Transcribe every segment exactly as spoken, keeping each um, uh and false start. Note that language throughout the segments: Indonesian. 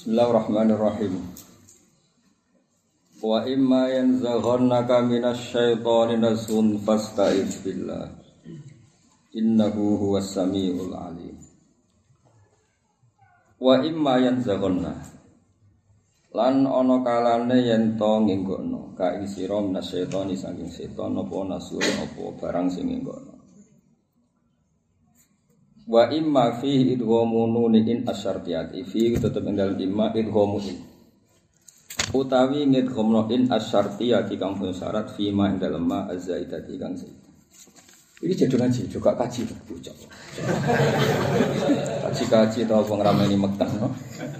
Bismillahirrahmanirrahim. Wa imma yanzaghannaka minasyaitoni nazghun fasta'iz billah. Innahu huwas samiul alim. Wa imma yanzaghanna lan ana kalane yen to ngenggokno ka ing sira minasyaitoni saking setan apa nasul apa barang sing ngenggokno. Wa imma fihi idghamu nunin asyartiyati fi tetep ing dalem imma idghamu in utawi ngidghamno in asyartiyati kang pun syarat fi ma ing dalem ma azaidati kang zaid. Iki jedho ngaji juga kaji bocah. Kaji-kaji to apa ngrameni Mekah no.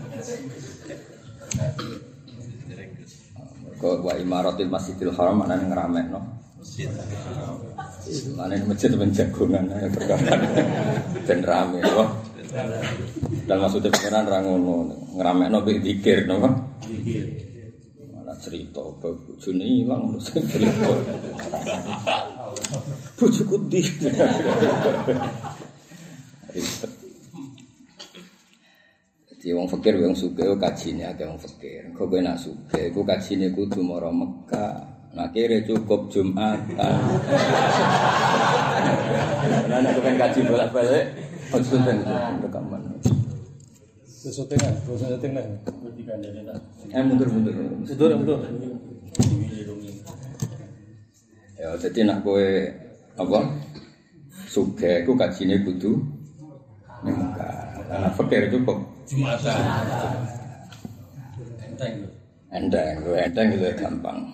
Kok wa imaratil Masjidil Haram ana ngramekno masjid. Mana ini masjid penjagungan ya perkara dan rame loh. Dan maksudnya pengiran rangono ngeramekno mbek zikir napa? Zikir. Malah cerita bojone ilang terus cerita. Bojoku ndi? Jadi wong fakir wong sugih kajine akeh wong fakir. Kok kowe nak sugih iku kajine kudu mara Mekah. Nah kira cukup Jumatan. Nah nak kan kaji bolak-balik. Maksudnya rekaman. Sesutingan, sesutingan. Eh mundur-mundur. Mundur, mundur. Ya jadi nak kowe apa? Sugih iku kajine kudu ning Mekah. Karena fakir cukup Jumatan. Enteng. Enteng, enteng itu gampang.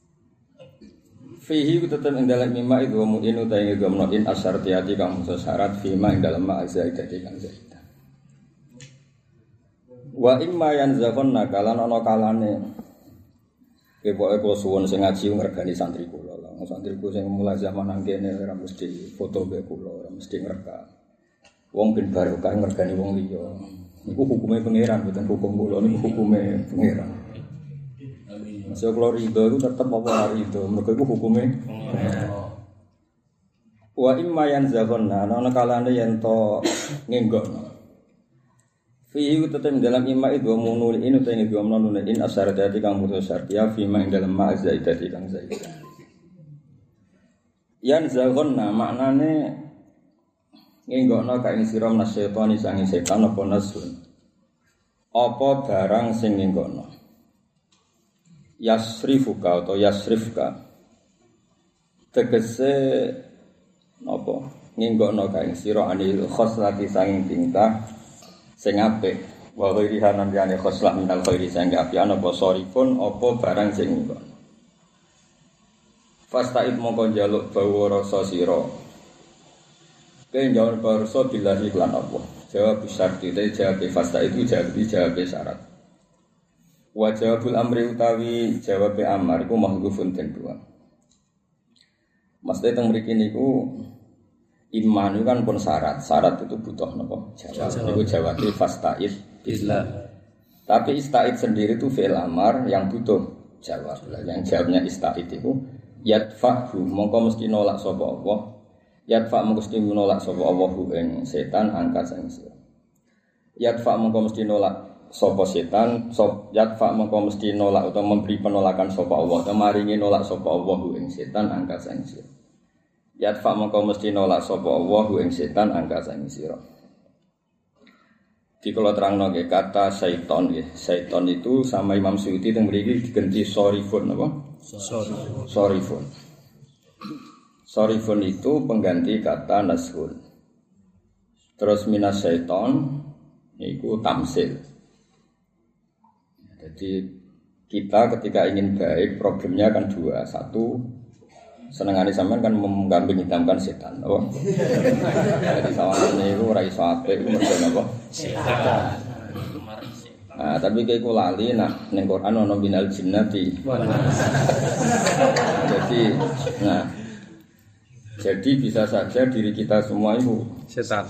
Fihi tetep ing dalem mimma itu mu'in utawi ngemnoin asyartiyati kang musa syarat fima ing dalem ma zaidati kang zaidah. Wa imma yanzaghonna kalan ana kalane kepoke kula suwun sing ngaji ngregani santri kula. Santriku sing mulai zaman nang kene ora mesti foto be kula, ora mesti ngrekam. Wong ben barokah ngregani wong liya. Niku hukume pangeran, mboten hukum kula niku hukume pangeran. Masih kalau ridho itu tetap apa ridho, mereka itu hukumnya. Wa imma yanzaghonna ana kalane yen to ngenggokno. Fi tetep dalam imma itu munul in utawa ngenggokno nune in asyarati kang mutus syartiya fi ma ing dalam ma zaidati kang zaidah. Yanzaghonna maknane ngenggokno ka ing sira nasyaitani sange setan apa nasun. Apa barang sing ngenggokno. Yasrifuka atau yasrifka tegese napa ngenggokno kae sira anil khoslati sanging tingkah sing apik wa ghairiha nan jane khoslah minal khairi sing apik ana apa sorifun apa barang sing ngenggokno fastaid mongko njaluk bawa rasa sira kene njaluk rasa billahi lan apa jawab syarti te jawab fastaid itu jawab jawab syarat. Wa jawabul amri utawi jawab amar iku mahdzufun den dua. Maksudnya teng mriki niku iman itu kan pun syarat. Syarat itu butuh napa? Jawab. Niku jawabe fasta'id billah. Tapi ista'id sendiri itu fi'il amar yang butuh jawab. Yang jawabnya ista'id itu yadfa'hu mongko mesti nolak sapa Allah. Yadfa' mongko mesti nolak sapa Allah ing setan angka sing sira. Yadfa' mongko mesti nolak sapa setan sop yatfa mengko mesti nolak atau memberi penolakan sapa Allah atau maringi nolak sapa Allah ing setan angka sang sira yatfa mengko mesti nolak sapa Allah ing setan angka sang sira. Di kula terangno nggih kata syaiton nggih syaiton itu sama Imam Suyuti teng mriki diganti sorifun apa sorifun sorifun sorifun itu pengganti kata nashun. Terus minas syaiton niku tamsil. Jadi kita ketika ingin baik problemnya kan dua. Satu senengane sampean kan menggambing hitamkan setan. Oh. Jadi sawane iku ora iso apik iku mergo napa? Setan. Nah, tapi kayak ku lali nak ning Quran ana minal jinnati. Jadi nah jadi bisa saja diri kita semua itu setan.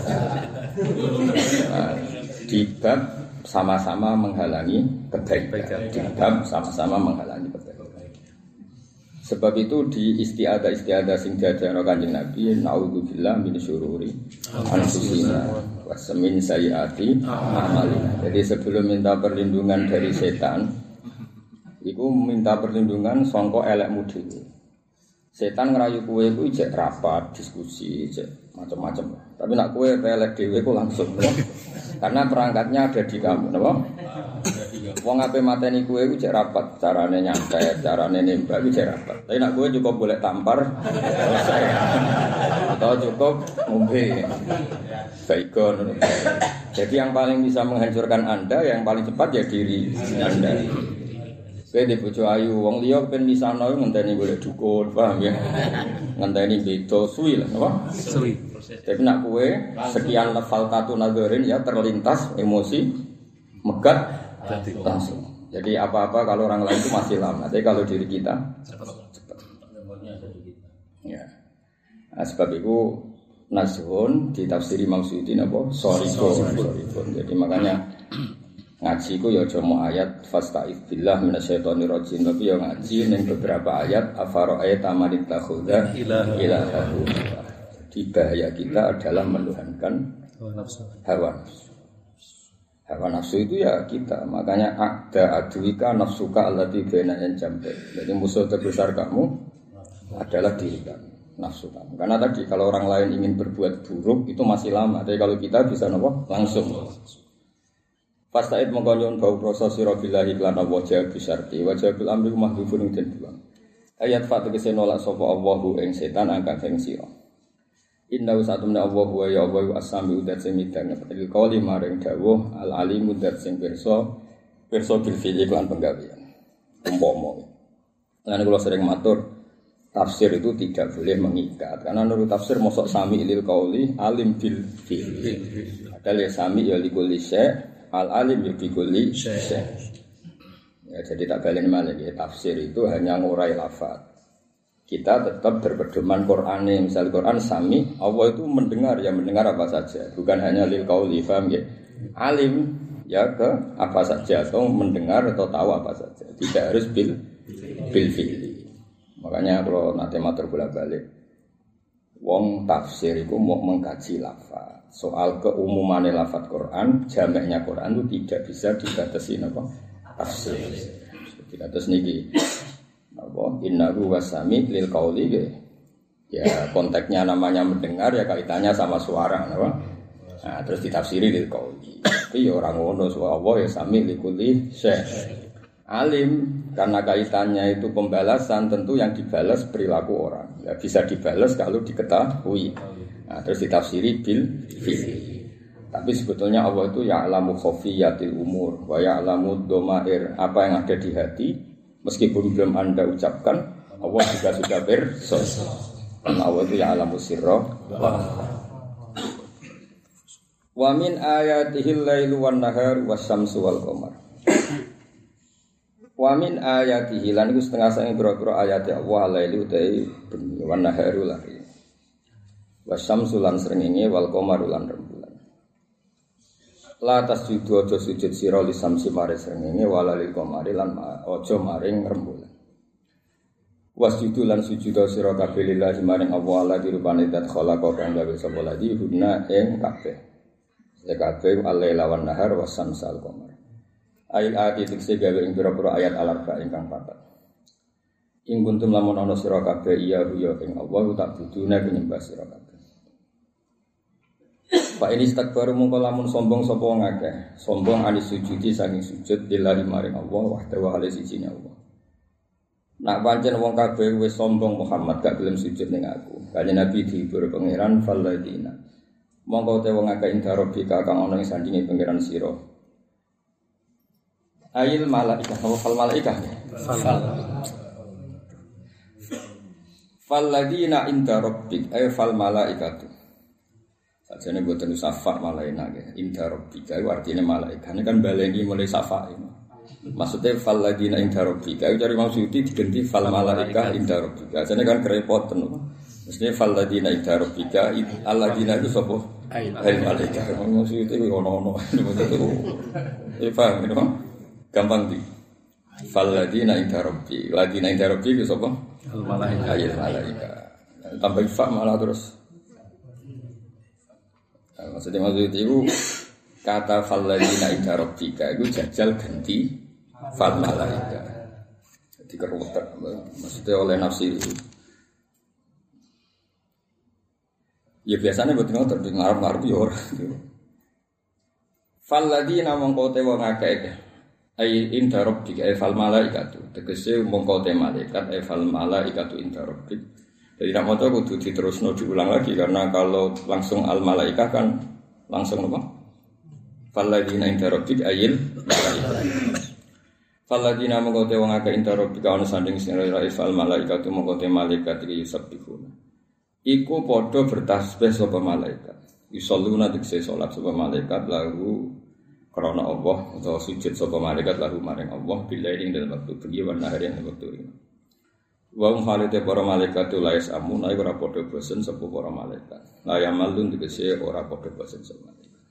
Nah, di bab sama-sama menghalangi kebaikan. Di bab sama-sama menghalangi kebaikan. Sebab itu di istiadah-istiadah sing diajarno Kanjeng Nabi, naudzubillah min syururi anfusina wa min sayyiati a'malina. Jadi sebelum minta perlindungan dari setan, iku minta perlindungan sangka elekmu dhewe. Setan ngerayu kowe iku ijek rapat, diskusi, ijek macam-macam. Tapi nak kowe elek dhewe ku langsung. Karena perangkatnya ada di kamu, napa? Wong ape mateni kowe iku cek rapat, carane nyantet, carane nembak iku cek rapat. Tapi nek kowe cukup boleh tampar, selesai. Atau cukup ngombe. Baikon. Jadi yang paling bisa menghancurkan Anda, yang paling cepat ya diri Anda. Kowe di bojo ayu, wong liya ben misano ngenteni golek dukun, paham ya? Ngenteni beda suwi lah, napa? Suwi. Tapi nek kowe sekian level tatu nazarin ya terlintas emosi megat langsung. Jadi apa-apa kalau orang lain itu masih lama, tapi kalau diri kita cepat. Cepat. Ya. Nah, sebab itu nashun ditafsiri Imam Suyuti napa? Sorikun. Jadi makanya ngaji ku ya aja mau ayat fasta'idz billah minasyaitonir rajim, tapi ya ngaji ning beberapa ayat afara'aita man ittakhadha ilahahu. Jadi bahaya kita adalah menuhankan hawa nafsu. Hawa nafsu itu ya kita, makanya ada aduika nafsuka allati baina jambe. Jadi musuh terbesar kamu adalah diri kamu, nafsu kamu. Karena tadi kalau orang lain ingin berbuat buruk itu masih lama, tapi kalau kita bisa nopo langsung. Fasta'id mengkonyon bau proses sira billahi lan Allah jawab bisyarti wa jawabil amri mahdhufun den buang. Ayat fatu kese nolak sapa Allahu ing setan angka ing sira. Inna usatumna Allah wa ya Allah asami udat sing midang il qali maring dawuh al alim udat sing pirsa pirsa bil fi'li lan penggawean. Umpama. Lan kula sering matur tafsir itu tidak boleh mengikat karena menurut tafsir mosok sami lil qauli alim bil fi'li. Padahal ya sami ya likulli syai' al alim ya bikulli syai'. Ya jadi tak balen malih ya tafsir itu hanya ngurai lafaz. Kita tetap berpedoman Quran ini. Misal Quran sami, Allah itu mendengar, ya mendengar apa saja. Bukan hanya lil qauli, faham ya? Alim, ya ke apa saja. Atau mendengar atau tahu apa saja. Tidak harus bil, bil fi'li. Makanya kalau nanti matur bola balik, wong tafsir itu mau mengkaji lafaz. Soal keumuman lafaz Quran, jamaknya Quran itu tidak bisa dibatasi apa? Tafsir. Tidak terus niki. Apa innahu wasami lil qauli ya konteksnya namanya mendengar ya kaitannya sama suara apa nah terus ditafsiri lil qauli tapi ya orang ngono suara Allah ya sami likulli syai' alim karena kaitannya itu pembalasan tentu yang dibalas perilaku orang ya bisa dibalas kalau diketahui nah terus ditafsiri bil fi'li tapi sebetulnya Allah itu ya'lamu khafiyatil umur wa ya'lamu dhamair apa yang ada di hati. Meskipun belum Anda ucapkan, Allah juga sudah bersos. Karena Allah itu ya'lamu sirra wa min ayatihil lailu wan nahar wasyamsu wal qamar. Wa min ayatihi lan iku setengah sange pira-pira ayat Allah lailu utai bengi wan naharu lari. Wasyamsu lan srengenge wal qamaru lan rembulan. La tasjudu aja sujud sira li samsi mare srengenge wala lil qamari lan aja maring rembulan. Wasjudu lan sujud sira kabeh lillahi maring Allah ala dirupane dat khalaqa kang gawe sapa ladi hunna ing kabeh. Ya kabeh al-laila wan nahar wasamsal qamar. Ayat ayat iki gawe ing pira-pira ayat al-arba ingkang papat. Ing kuntum lamun ana sira kabeh iya ya ing Allah tak budune penyembah sira kabeh. Pak ini istakbaru mongko lamun sombong sapa wong akeh, sombong anis sujudi saking sujud lillahi maring Allah wahdahu wa sijine Allah. Nak pancen wong kabeh wis sombong Muhammad gak gelem sujud ning aku. Kanjeng Nabi dihibur pangeran falladina. Mongko te wong akeh indarobika kang ana ing sandinge pangeran sira. Ail malaikah fal malaikah. Fal. Falladina indarobbik ay fal malaikatu. Sajane boten safa malaina nggih. Inda rabbika iku artine malaikat. Ini kan baleni mulai safa ini. Maksudnya fal ladina inda rabbika. Iku cari maksudi diganti fal malaika inda rabbika. Sajane kan kerepotan. Mestine fal ladina inda rabbika alladina itu sapa? Ai malaikat. Maksudnya iku ono-ono. Maksudnya paham itu? Gampang di. Fal ladina inda rabbi. Ladina inda rabbi itu sapa? Al malaika. Ayil malaika. Tambah fa malah terus. Nah, maksudnya maksud itu kata falladina inda rabbika itu jajal ganti fal malaika. Jadi keruwetan maksudnya oleh nafsi itu. Ya biasanya buat ngotot di ngarep-ngarep ya ora. Falladina mongko te wong akeh ai inda rabbika ai fal malaikatu tegese mongko te malaikat ai fal malaikatu inda rabbik. Jadi nak maca kudu diterusno diulang lagi karena kalau langsung al malaikah kan langsung apa? Falladina inda rabbik ayil malaikah. Falladina mongko te wong akeh inda rabbika ana sanding sing ora fal malaikatu mongko te malaikat iki yusabbihuna. Iku padha bertasbih sapa malaikat. Yusalluna dikse salat sapa malaikat lagu krana Allah utawa sujud sapa malaikat lagu maring Allah bilaing dalam waktu bengi wan nahari ing waktu ini. Wa hum halite para malaikat lais amun ae ora padha bosen sapa para malaikat. La yamalun dikse ora padha bosen sapa malaikat.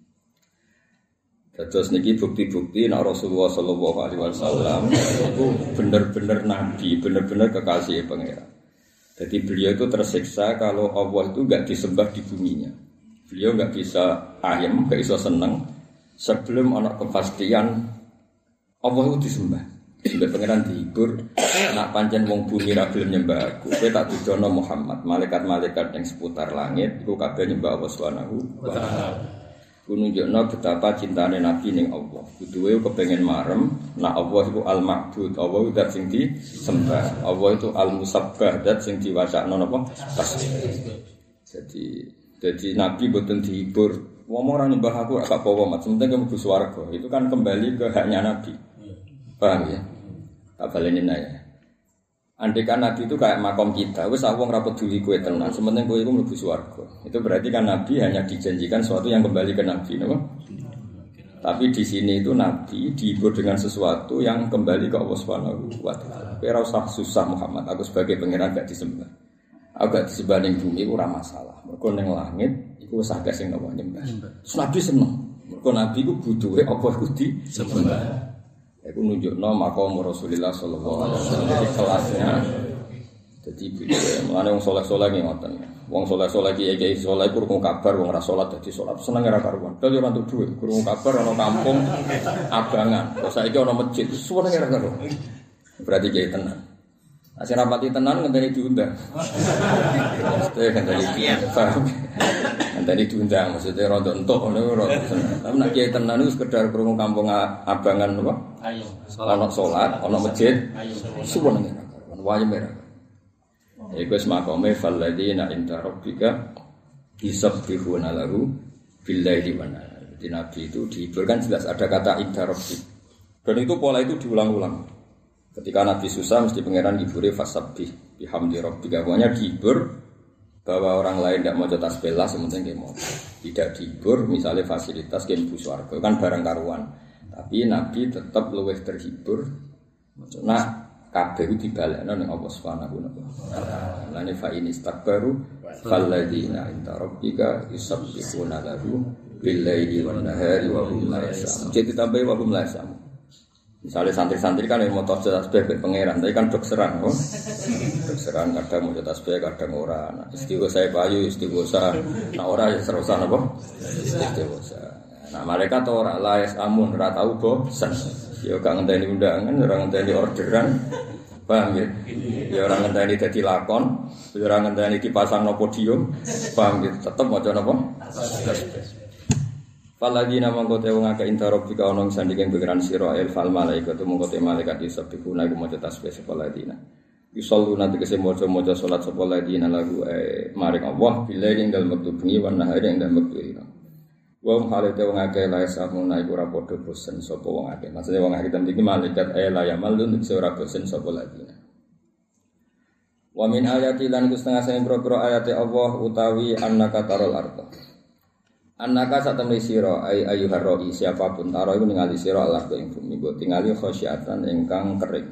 Terus niki bukti-bukti nek Rasulullah sallallahu alaihi wasallam itu bener-bener nabi, bener-bener kekasih pangeran. Jadi beliau itu tersiksa kalau Allah itu enggak disembah di buminya. Beliau enggak bisa ayem, enggak bisa senang sebelum ada kepastian Allah itu disembah. Sampai pangeran dihibur, nak pancen wong bumi ra gelem nyembah aku, kowe tak dudono Muhammad, malaikat-malaikat yang seputar langit iku kabeh nyembah Allah Subhanahu wa taala. Kununjukno betapa cintane Nabi ning Allah. Kuduwe kepengin marem, nak Allah itu al-ma'bud, Allah itu dat sing disembah. Allah itu al-musabbah, dat sing diwacakno napa? Tasbih. Jadi jadi Nabi boten dihibur. Wong ora nyembah aku gak apa-apa, mat penting mlebu swarga. Itu kan kembali ke haknya Nabi. Paham ya? Tak baleni nae. Andaikan Nabi itu kayak makom kita, wis wong ra peduli kowe tenan, sementing kowe iku mlebu swarga. Itu berarti kan Nabi hanya dijanjikan sesuatu yang kembali ke Nabi, napa? Tapi di sini itu Nabi dihibur dengan sesuatu yang kembali ke Allah Subhanahu wa taala. Kowe ora usah susah Muhammad, aku sebagai pangeran gak disembah. Aku gak disembah ning bumi ora masalah. Mergo ning langit iku wis akeh sing napa nyembah. Terus Nabi seneng. Mergo Nabi iku butuhe apa kudu disembah. Aku nunjukno maqam Rasulullah sallallahu alaihi wasallam di kelasnya. Jadi mulane wong saleh-saleh ki ngoten. Wong saleh-saleh ki iki saleh krungu kabar wong ora salat dadi salat seneng ora karuan. Dadi ora entuk dhuwit, krungu kabar ana kampung abangan. Kok saiki ana masjid, seneng ora karuan. Berarti kiai tenan. Asih rapati tenan ngenteni diundang. Mesti ngenteni diundang. Ngenteni diundang maksudnya rondo entuk ngono ora. Tapi nek kiai tenan iku sekedar krungu kampung abangan apa? Ayo. Ana salat, ana masjid. Suwun ngene. Wae merah. Iku wis makome falladina inda rabbika yusabbihuna lahu billaili wan nahar. Jadi Nabi itu dihiburkan jelas ada kata inda rabbik. Dan itu pola itu diulang-ulang. Ketika Nabi susah mesti pangeran hibure fasabbih bihamdi rabbika. Pokoknya dihibur bahwa orang lain tidak mau tasbih lah sementing dia mau. Tidak dihibur misalnya fasilitas game bus warga kan barang karuan. Tapi Nabi tetap luwih terhibur. Nah, kabeh dibalekno ning Allah Subhanahu wa taala. Lane fa in istakbaru falladzina inda rabbika yusabbihuna lahu bil-laili wan nahari wa hum la yas'amun. Jadi tambah wa hum la yas'amun. Misalnya santri-santri kan yang mau tasbih be pangeran, tapi kan dok serang, oh. Dok serang kadang mau tasbih kadang ora. Nah, istighosa payu, istighosa nah ora ya serosan apa? Istighosa. Nah, mereka tuh ora laes amun, ora tau bosan. Ya gak ngenteni undangan, ora ngenteni orderan. Paham ya? Ya ora ngenteni dadi lakon, ya ora ngenteni dipasang no podium. Paham ya? Tetep maca napa? Tasbih. Faladina mongko te wong akeh intarobika ana sandinge pengiran sira el fal malaikatu mongko te malaikat disebihuna iku maca tasbih sapa ladina. Yusalluna tegese maca-maca salat sapa ladina lagu eh maring Allah bila ing dalem wektu bengi wan nahari ing dalem wektu ira. Wong halete wong akeh lae samuna iku ora padha bosen sapa wong akeh. Maksudnya wong akeh iki malaikat eh la yamalun tegese ora bosen sapa ladina. Wa min ayati lan iku setengah sing pro-pro ayate Allah utawi annaka tarol arda. Annaka satemene sira ay ayuhar roi siapapun taro iku ningali sira Allah ing bumi go tingali khasyatan ingkang kering.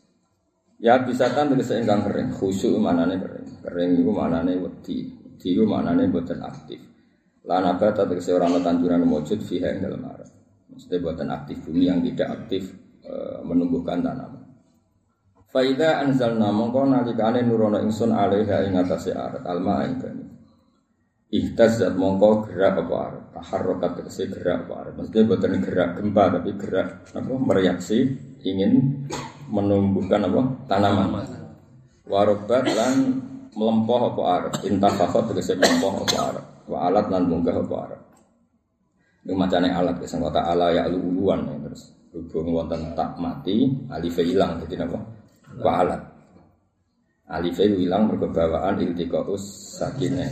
Ya bisa kan tegese ingkang kering, khusyuk manane kering. Kering iku manane wedi, wedi iku manane boten aktif. Lan abata tegese ora ana tanduran wujud fiha ing dalem arep. Mesti boten aktif bumi yang tidak aktif e, menumbuhkan tanaman. Fa idza anzalna mongko nalikane nurono ingsun alaiha ing atase arat alma ing banyu. Ihtazzat mongko gerak apa arat, taharrakat tegese gerak apa arat. Maksudnya boten gerak gempa tapi gerak apa mereaksi ingin menumbuhkan apa tanaman. Warobat lan melempoh apa arat, intafakhat tegese melempoh apa arat. Wa alat lan munggah apa arat. Ini macane alat sing kata ala ya uluwan ya, terus hubung wonten tak mati alif ilang dadi napa wa alat alif ilang mergo bawaan iltiqaus sakinah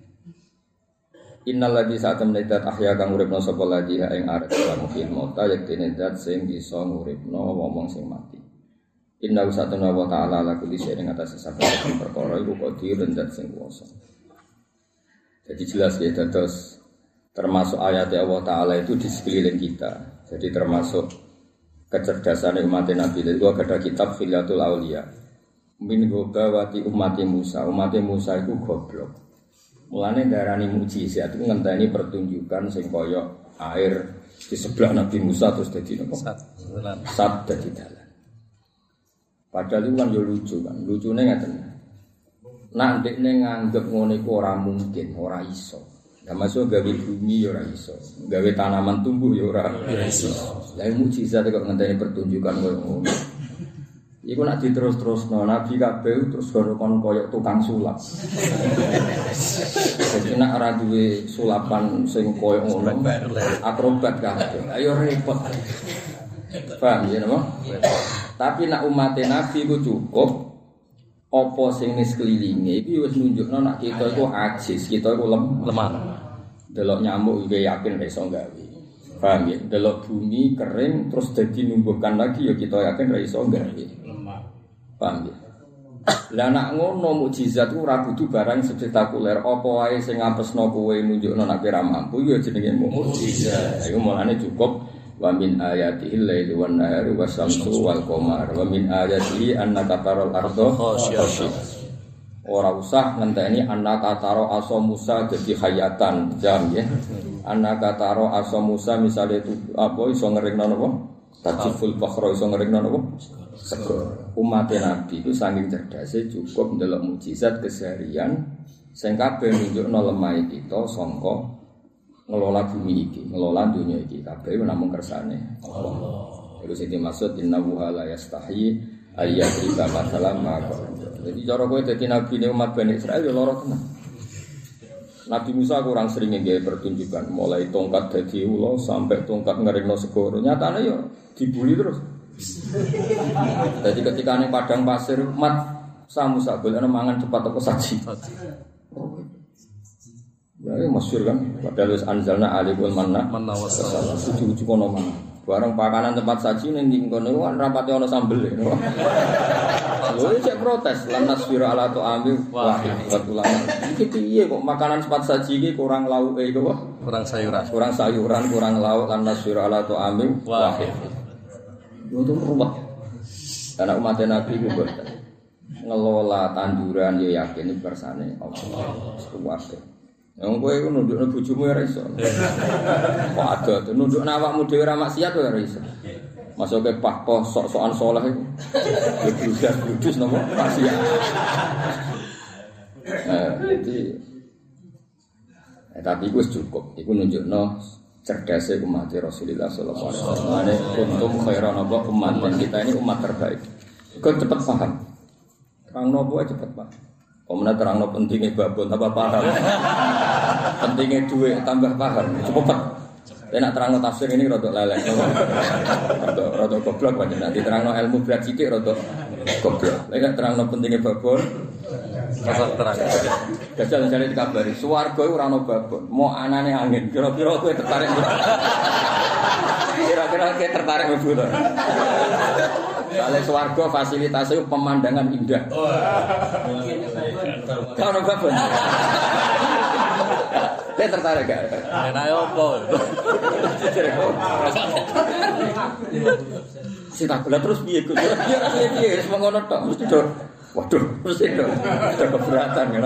innal ladzi sa'atam nadat ahya kang uripna sapa ladzi ing arep lan mukil mota yektene zat sing bisa nguripna wong sing mati inna usatuna wa ta'ala la kulli shay'in atas saben perkara iku qadir zat sing kuwasa. Jadi jelas ya terus termasuk ayat Allah Ta'ala itu di sekeliling kita. Jadi termasuk kecerdasan umat Nabi. Itu ada kitab Khilatul Aulia. Min gobawati umati Musa. Umati Musa itu goblok. Mulane darani mukjizat itu ngenteni pertunjukan sing kaya air di sebelah Nabi Musa terus dadi napa? Sat. Sat dadi dalan. Padahal itu kan yo lucu kan. Lucune ngaten. Nek ndekne nganggep ngono iku ora mungkin, ora iso. Ya masuk gawe bumi ya ora iso, gawe tanaman tumbuh ya ora iso. Lah mukjizat kok ngenteni pertunjukan koyo ngono. Iku nek diterus-terusno Nabi kabeh terus kon koyo tukang sulap. Jadi nek ora duwe sulapan sing koyo ngono, akrobat kabeh. Ayo repot. Paham ya napa? Tapi nek umat Nabi ku cukup apa sing ning sekelilinge iki wis nunjukno nek kita iku ajis, kita iku lemah. Delok nyamuk iki yakin ora iso gawe. Paham ya? Delok bumi kering terus dadi numbuhkan lagi ya kita yakin ora iso gawe. Lemah. Paham ya? Lah nek ngono mukjizat ku ora kudu barang spektakuler, apa wae sing ngampesno kowe nunjukno nek ora mampu ya jenenge mukjizat. Iku mulane cukup wa min ayatihil laili wan nahari wasyamsu wal qamar wa min ayatihi annaka taral arda khashi'ah. Ora usah ngenteni annaka taro aso Musa dadi hayatan jam ya. Annaka taro aso Musa misale itu apa iso ngeringno napa? Tajiful fakhra iso ngeringno napa? Segor. Umat Nabi itu saking cerdase cukup ndelok mukjizat keseharian sing kabeh nunjukno lemah kita sangka ngelola bumi iki, ngelola dunia iki kabeh namung kersane Allah. Iku sing dimaksud innahu la yastahi ayyadriba masalan maka. Jadi cara kowe dadi nabi ne umat Bani Israil ya lara tenan. Nabi Musa kurang sering nggawe pertunjukan, mulai tongkat dadi ula sampai tongkat ngeringno segoro. Nyatane ya dibuli terus. Jadi ketika ning padang pasir umat Musa golek mangan cepat apa saji. Ya masyhur kan, padahal wis anzalna alikul manna manna wassalama. Suci-suci kono mangan. Barang pakanan tempat saji ning kono kan rapate ana sambel. Lho cek protes lan nasfira ala ta'ami wahid ulama. Iki piye kok makanan tempat saji iki kurang lauke iku kok? Kurang sayuran. Kurang sayuran, kurang lauk lan nasfira ala ta'ami wahid. Yo to ruwet. Karena umat Nabi ku boten. Ngelola tanduran ya yakin iki kersane Allah. Kuwate. Yang kowe iku nundukno bojomu ora iso. Kok ada nundukno awakmu dhewe ora maksiat ora iso. Masuke pahpoh sok-sokan saleh iku. Ya bludas-bludus napa maksiat. Eh jadi eh, tapi iku cukup. Iku nunjukno cerdasnya umat Rasulullah sallallahu alaihi wasallam. Ane kuntum khairan apa umat dan kita ini umat terbaik. Kau cepat paham. Terang nopo cepat paham. Pemenang terang no pentingnya babon tambah paham, pentingnya duit tambah paham, cepet. Tapi nak terang no tafsir ini rodok lelek, rodok rodok goblok banyak. Nanti terang no ilmu berat sidik rodok goblok. Lagi terang no pentingnya babon, asal terang. Gajal mencari dikabari, suwargo itu orang no babon, mau anane angin. Kira-kira aku tertarik, kira-kira aku tertarik betul. Soalnya swarga fasilitasnya pemandangan indah. Kau orang babon. Dia tertarik gak? Enak apa? Si tak gula terus piye gue? Dia rasanya piye? Semua ngono tok mesti do. Waduh, mesti do. Ada keberatan kan?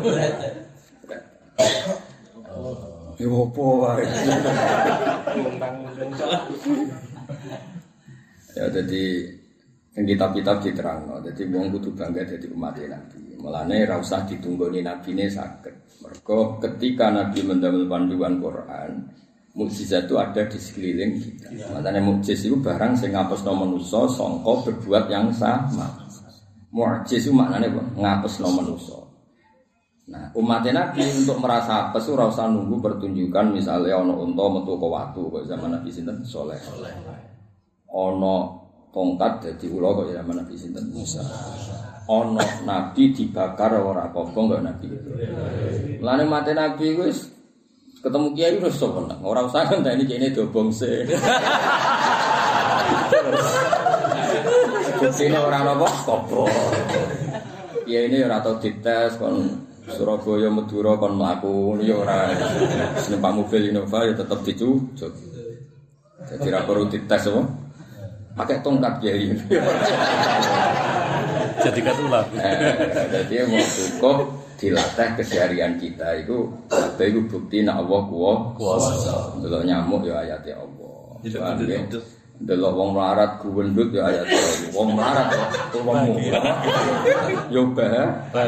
Ya apa wae. Ya jadi Sing kitab-kitab diterangno. Dadi wong kudu bangga dadi umat Nabi. Mulane ra usah ditunggoni nabine saged. Mergo ketika Nabi mendamel panduan Quran, mukjizat itu ada di sekeliling kita. Makanya mukjiz itu barang sing ngapesno manusa sangka berbuat yang sama. Mukjiz itu maknane apa? Ngapesno manusa. Nah, umat Nabi untuk merasa apes ora usah nunggu pertunjukan misalnya ana unta metu ke watu kok zaman Nabi sinten Saleh. Ana tongkat dadi ula kok zaman Nabi sinten Musa. Ana nabi dibakar ora kobong kok Nabi. Lane mate Nabi wis ketemu kiai wis sopan. Ora usah ngenteni kene dobong se. Kucine ora napa kobong. Kiai ini ora tau dites kon Surabaya Madura kon mlaku ya ora numpak mobil Innova ya tetep dicucuk. Dadi ra perlu dites apa? Pakai tongkat kiai. Jadi katulah. Eh, jadi mau cukup dilatih keseharian kita itu kabeh iku bukti nek Allah kuwasa. Delok nyamuk ya ayate Allah. Delok wong melarat guwendut ya ayate Allah. Wong melarat kok wong yo bah.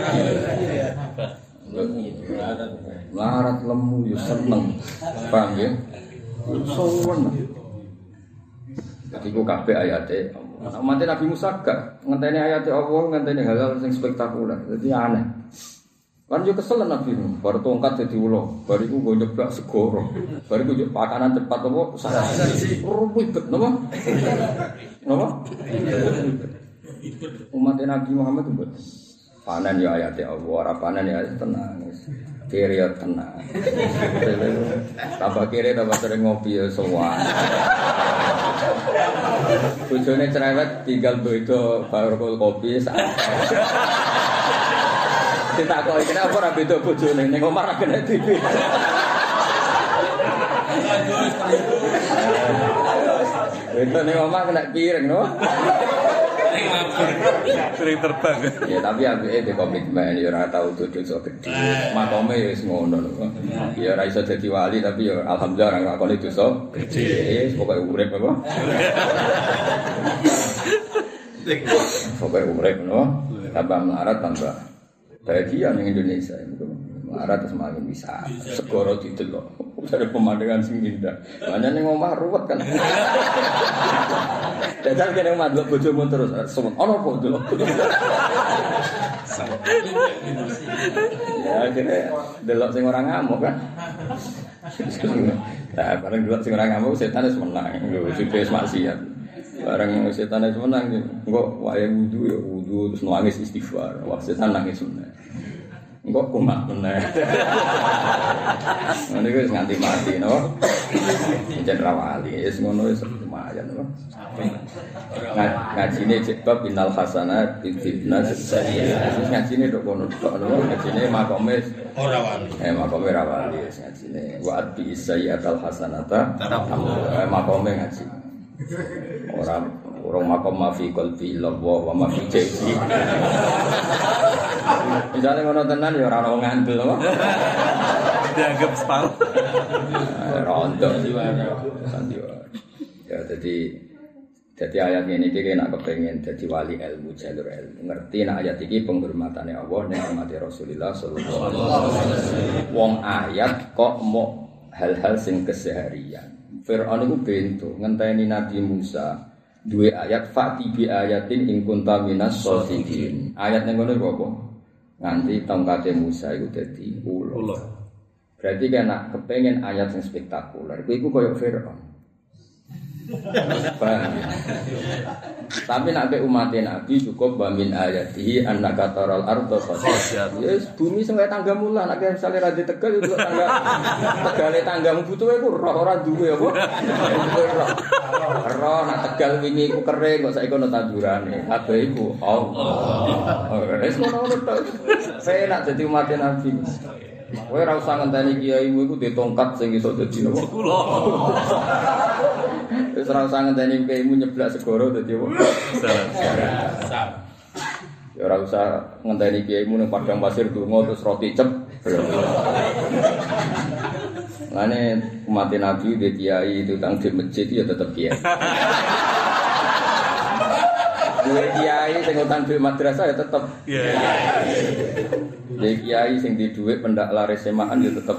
Melarat lemu yo seneng. Paham ya? Sowen. Jadi ku kabeh ayate Allah. Umat Nabi Musa gak ngenteni ayat Allah, ngenteni hal-hal yang spektakuler. Jadi aneh. Kan yo kesel Nabi nu, bar tongkat dadi ula, bar iku nggo nyeblak segoro. Bar iku yo pakanan cepat apa usaha. Ribet napa? Napa? Umat Nabi Muhammad itu panen ya ayat Allah, ora panen ya tenang. Kiri ya tenang. Tambah kiri tambah sering ngopi ya sowan. Bojone cerewet tinggal beda baru kopi sak. Ditakoki kenapa ora beda bojone ning omah ra kena T V. Itu ning omah kena piring no. Ning mabur. Piring terbang. Ya tapi apike de komitmen ya ora tau duduk sok gedhe. Makome ya wis ngono lho. Ya ora iso dadi wali tapi ya alhamdulillah ora ngakoni dosa gedhe. Wis pokoke urip apa. Pokoke urip no. Tambah melarat tambah bahagia ning Indonesia itu. Melarat terus makin bisa. Segoro didelok. Ada pemandangan sing indah. Hanya ning omah ruwet kan. Dadal kene omah delok bojomu terus. Ono apa delok. Ya kene delok sing ora ngamuk kan. Nah, bareng delok sing ora ngamuk setan wis menang. Lho, wis maksiat. Bareng setan wis menang engko wae wudu ya wudu terus nangis istighfar. Wah, setan nangis meneh. Engko kumat meneh. Ngene wis nganti mati no. Jen rawali wis ngono wis lumayan no. Ngajine jebab innal hasanat bitibnas sayyi'at. Wis ngajine tok kono tok no. Ngajine makome ora wali. Eh makome ora wali wis ngajine wa bi sayyi'atal hasanata eh makome ngaji. Ora orang makom mafi qalbi illallah wa mafi jaybi. Misalnya ngono tenan ya ora ono ngandel apa. Dianggap spam. Rondo sandiwara. Ya jadi jadi ayat ini iki nek kepengin dadi wali ilmu jalur ilmu. Ngerti nek ayat iki penghormatane Allah ning umat Rasulullah sallallahu alaihi wasallam. Wong ayat kok mau hal-hal sing keseharian. Fir'aun iku bento ngenteni Nabi Musa duwe ayat fa'ti bi ayatin in kunta minas shadiqin. Ayat ning ngono apa? Nganti tongkate Musa iku dadi ulo. Berarti kan nak kepengin ayat sing spektakuler, kuwi iku koyo Firaun. Tapi nak be umat Nabi cukup wa min ayatihi annaka taral arda khashyatan. Yes, bumi sing kaya tanggamu lah, nek misale ra di Tegal itu tangga. Tegale tanggamu butuhe ku roh ora duwe apa? Roh nak Tegal wingi ku kering kok saiki ono tandurane. Kabeh iku Allah. Wis ngono tok. Saya nak dadi umat Nabi. Kowe ora usah ngenteni kiaimu iku ditongkat sing iso dadi nopo. Kula. Wis ora usah ngenteni kiaimu nyeblak segoro dadi apa? Salah. Ya ora usah ngenteni kiaimu ning padang pasir donga terus roti cep. Lane umat Nabi di kiai itu tang di masjid ya tetep kiai. duwe kiai sing utang duit madrasah ya tetep. Iya. Duwe kiai sing di duit pendak laris semaan ya tetep.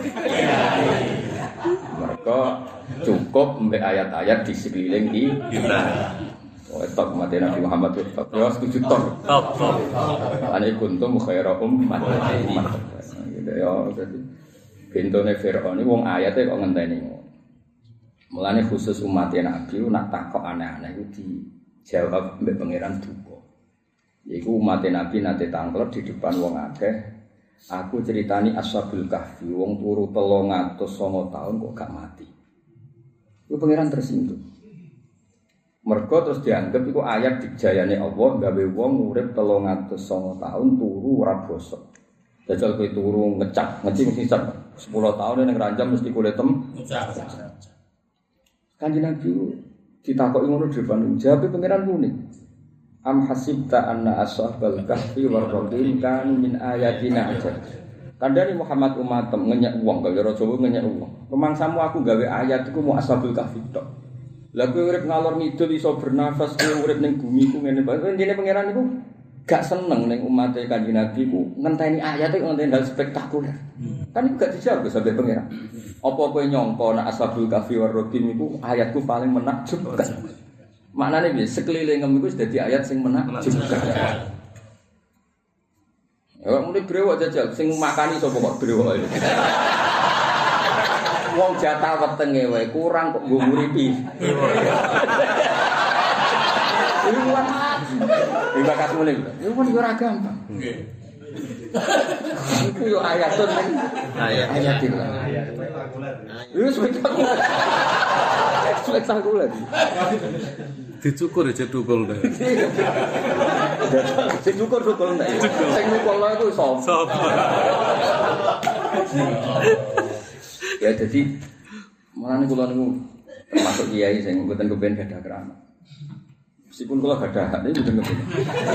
Mereka cukup mbek ayat-ayat di sekeliling kita. Oh, tok mati Nabi Muhammad itu tok. Ya setuju tok. Top top. Ane kuntum khaira ummah. Gitu ya jadi bentone Firaun iki wong ayate kok ngenteni. Mulane khusus umat Nabi nak takok aneh-aneh iku dijawab mbek pangeran duka. Yaiku umat Nabi nate tanglet di depan wong akeh. Aku ceritani Ashabul Kahfi wong turu telung atus sanga taun kok gak mati. Iku pangeran tersinggung. Mergo terus dianggap iku ayat dijayane Allah gawe wong urip telung atus sanga taun turu ora bosok. Jajal kowe turu ngecak, ngeci mesti sak sepuluh tahun ning ranjam mesti kulit tem. Ngecak. Kanjeng Nabi ditakoki ngono depan jawab pangeran kuning. Am hasibta anna ashabal kahfi war raqim kanu min ayatina aja. Kandhani Muhammad umatem ngenyek wong gawe ora Jawa ngenyek wong. Pemangsamu aku gawe ayat iku mau ashabul kahfi tok. Lah kowe urip ngalor ngidul iso bernafas kowe urip ning bumi ku ngene bae. Intine pangeran iku gak seneng ning umat Kanjeng Nabi ku ngenteni ayat iku ngenteni hal spektakuler. Kan iku gak dijawab sampe pangeran. Apa kowe nyangka nek ashabul kahfi war raqim iku ayatku paling menakjubkan. Maknane piye sekelilingem iku wis dadi ayat sing menakjubkan. Ya muni brewok jajal sing makani sapa kok brewok iki. Wong jatah wetenge wae kurang kok nggo nguripi. Iki kuat. Iki bakas muni. Iku kan ora gampang. Nggih. Iku yo ayatun ning ayat ayatil. Iku spektakuler. Spektakuler. Dicukur aja tukul deh. Sing cukur tukul ndak. Sing tukul iku sapa? Ya jadi mulane kula niku termasuk kiai sing mboten kepen gadah keramat. Meskipun kula gadah hak niku mboten kepen.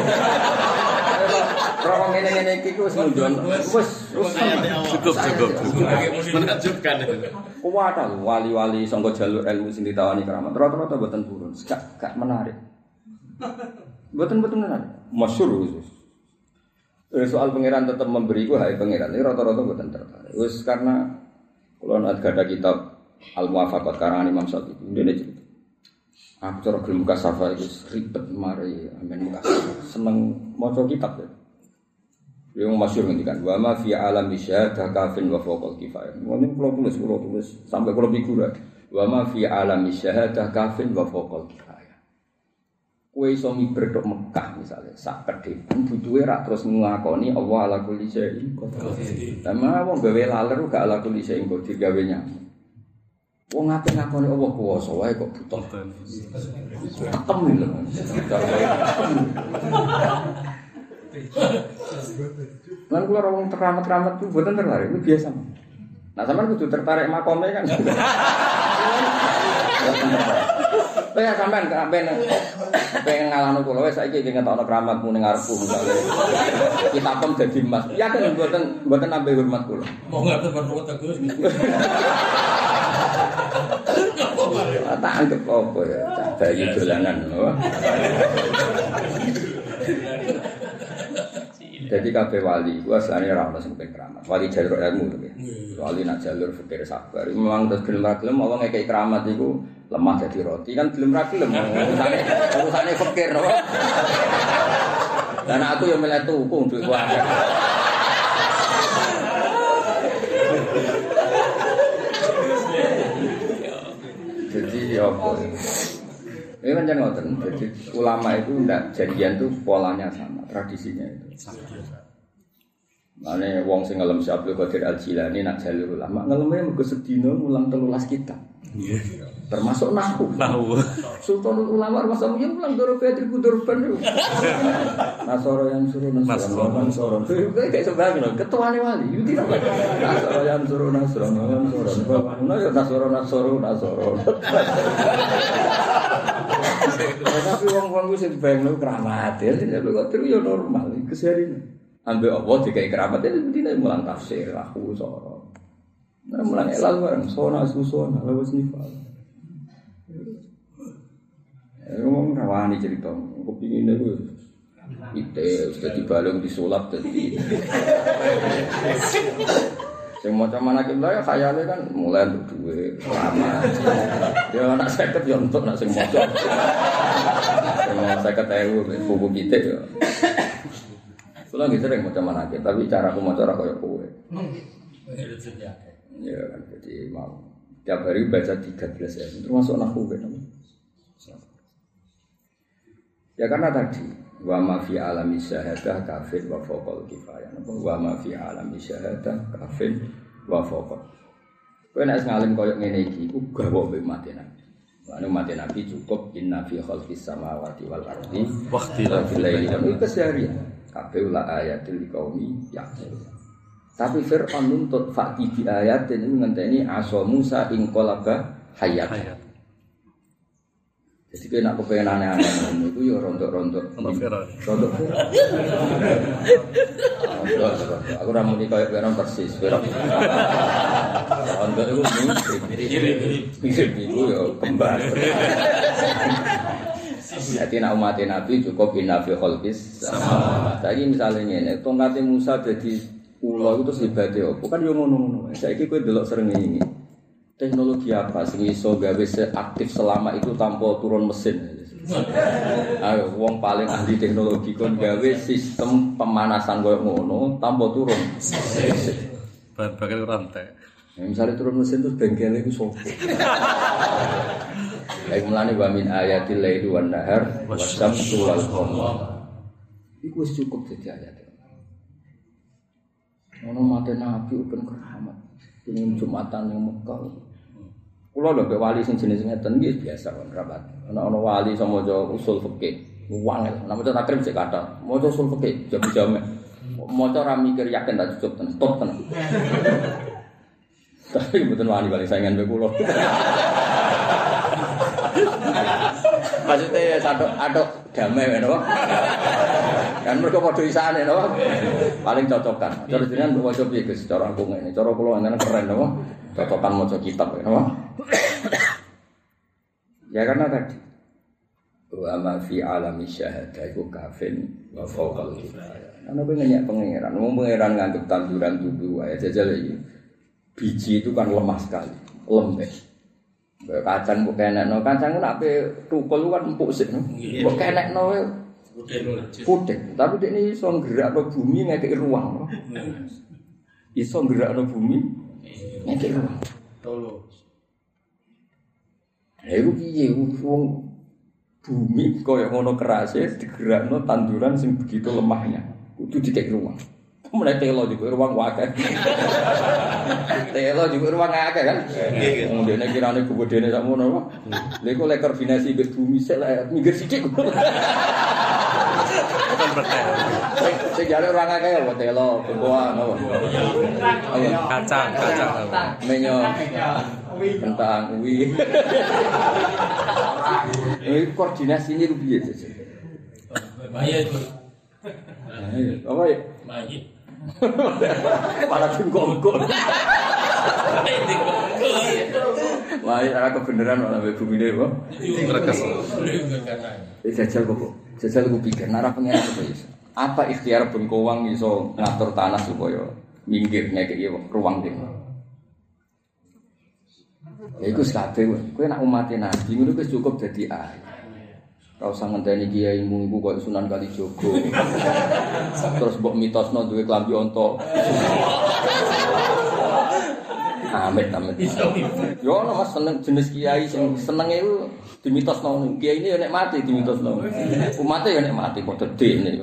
Kalau ngene-ngene iki wis nunjuk wis cukup cukup cukup. Menakjubkan itu. Kuwat wali-wali sangga jalur ilmu sing ditawani keramat. Rata-rata mboten purun, gak gak menarik. Mboten-mboten menarik. Masyhur wis. Eh, soal pangeran tetap memberi ku hak pangeran. Ini rata-rata mboten tertarik. Wis karena kalau ada ada kitab Al-Muwafaqat karangan Imam Syafi'i ndene cerita. Aku cara gelem muka safa iki ribet mari amen muka seneng maca kitab ya. Yang masyhur ngendikan wa ma fi alam syahadah kafin wa fawqal kifayah. Ngene kula tulis kula tulis sampai kula figura. Wa ma fi alam syahadah kafin wa fawqal kifayah. Kowe iso miber tok Mekah misale sak kedhepan butuhe ra terus ngakoni Allah ala kulli syai'in qadir. Tema wong gawe laler gak ala kulli syai'in qadir gawe nyamuk. Wong ngapain ngakoni Allah kuwasa wae kok butuh. Tekem lho. Lan kula wong teramat-teramat ku mboten tertarik, itu biasa. Nah, sampean kudu tertarik makome kan. Ya sampean sampean pengen ngalahno kula wis saiki iki ngetokno keramatmu ning ngarepku misale. Kita pun dadi emas. Ya kan mboten mboten nambah hormat kula. Mau ngatur perlu tegus. Tak anggap apa ya, cah bayi dolanan. Jadi kabeh wali ku asline ora ono sing keramat. Wali jalur ilmu to ya. Wali nak jalur fikir sabar. Memang terus gelem ra gelem Allah ngekeki keramat iku lemah dadi roti kan gelem ra gelem. Urusane urusane fikir to. Dan aku yang milih tuku duit ku akeh. Jadi apa? Ini kan jangan ngoten. Jadi ulama itu ndak janjian tuh polanya sama, tradisinya itu. Mane wong sing ngelem Syekh Abdul Qadir Al-Jilani nak jalur ulama ngeleme mergo sedina mulang telulas kitab. Nggih. Termasuk nahwu. Nahwu. Sultanul ulama masa mulia mulang doro Fitri Kudurban itu. Nasoro yang suruh nasoro nasoro. Kayak sebagainya ketuane wali. Itu tidak. Nasoro yang suruh nasoro nasoro. Nasoro nasoro nasoro. Tapi wong-wong sing bayangno keramat ya, Abdul Qadir yo normal keseharian. Ambil Allah dikai keramat itu dina mulang tafsir aku soro. Nah mulang elal bareng sona susona lawas nifal. Ngomong rawani cerita, kepingin itu ite sudah dibalung disulap jadi. Yang macam mana kita ya khayalnya kan mulai untuk duit lama. Dia nak seket ya untuk nak sing moco. Semua seket ewu buku kita ya. Kalau gitu sering macam mana kita, tapi cara aku mau cara kayak kowe. Ya kan jadi mau tiap hari baca tiga belas ya, termasuk nahu kan. Ya karena tadi wa ma fi alami syahadah kafir wa fawqal kifayah. Wa ma fi alami syahadah kafir wa fawqal. Kowe nek ngalim koyo ngene iki ku gawe mbek mati nabi. Anu mati nabi cukup inna fi khalqis samawati wal ardi waqtilafil laili wal nahari. Kabeh la ayatil liqaumi yaqilun. Tapi Fir'aun nuntut fakti bi ayatin ini ngenteni aso Musa ing qalaba hayat. Jadi kena kepengen aneh-aneh itu ya rontok-rontok. Rontok. Aku ora muni koyo Fir'aun persis, Fir'aun. Rontok itu mirip itu ya kembar. Jadi nak umat Nabi cukup binafi khalqis sama. Saiki misale ngene, tongkate Musa dadi ula itu terus hebate opo? Kan yo ngono-ngono. Saiki kowe delok srengenge. Teknologi apa sing iso gawe seaktif selama itu tanpa turun mesin? Ayo, wong paling ahli teknologi kon gawe sistem pemanasan koyo ngono tanpa turun mesin. Bahan bakar rantai. Ya, misalnya turun mesin terus bengkelnya itu sopo. Kayak mulane wa min ayatil laili wan nahar wasyamsu wal qamar. Iku wis cukup dadi ayat. Ono mate nabi ben keramat. Ini Jumatan yang Mekah. Kulo lho wali sing jenis ngeten iki biasa kon rapat. Ana ana wali sama maca usul fikih. Wangel, nek maca takrib sik kathah. Maca usul fikih jam-jam. Maca ra mikir yakin tak cukup tenan, stop tenan. Tapi mboten wani paling saingan mbek kulo. Maksudnya satu aduk damai napa? Kan mergo padha isane napa? Paling cocokan. Terus jenengan mbok waca piye Gus? Cara aku ngene, cara kula ngene keren napa? Cocokan maca kitab napa? Ya karena tadi wa ma fi alami syahadah iku kafin wa fawqal kifayah. Ana pengen pangeran, wong pangeran nganggep tanduran tubuh wae jajal iki. Biji itu kan lemah sekali, lembek. Kacang mbok kenekno, kacang ku nek ape tukul kan empuk sik. Mbok kenekno putih. Tapi dekne iso nggerakno bumi ngekeki ruang. Iso nggerakno bumi ngekeki ruang. Tolo. Ayo piye wong bumi koyo ngono kerase digerakno tanduran sing begitu lemahnya. Kudu dikeki ruang. Mulai telo juga ruang wakil, telo juga ruang akeh kan? Kemudian kirane kebodene sak mono apa? Lha iku lek koordinasi mbek bumi sik lek minggir sithik. Bukan berteh. Sing jare ruang akeh ya telo, beboan apa? Kacang, kacang. Menyo. Kentang uwi. Ini koordinasinya piye sih? Bahaya itu. Apa ya? Bahaya. Malah tingkong-kong. Wah, ini ada kebenaran malah bumi ini, Pak. Mereka Ini jajal kok, jajal aku pikir, narah pengen apa ya? Apa ikhtiar bengkowang iso ngatur tanah supaya minggir ngekeki ruang dhewe. Ya iku kabeh kowe nek umat Nabi ngono wis cukup dadi ayat. Ora usah ngenteni kiaimu iku kok Sunan Kalijaga. Terus mbok mitosno duwe klambi onto. Amit amit. Yo ono Mas seneng jenis kiai sing senenge iku dimitosno. Kiai ini ya nek mati dimitosno. Umate ya nek mati padha dene.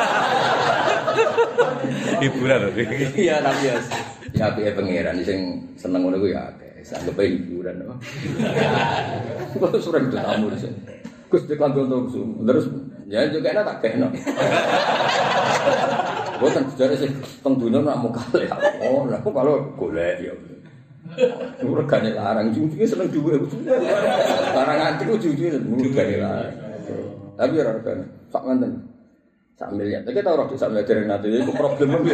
hiburan lho. Iya tapi ya ya piye pangeran sing seneng ngono ku ya akeh. Sanggep hiburan apa. Kok surat tamu di sini. Gus dikantor terus, terus ya juga enak tak kena. Bukan sejarah sih tengdunya nak muka le. Oh, aku kalau golek ya. Regane larang, ujung-ujungnya seneng duwe. Larang antik ujung-ujungnya regane larang. Tapi ora regane sak ngenten. Sak miliar. Tapi tau ora sak miliar dereng nate iku problem piye.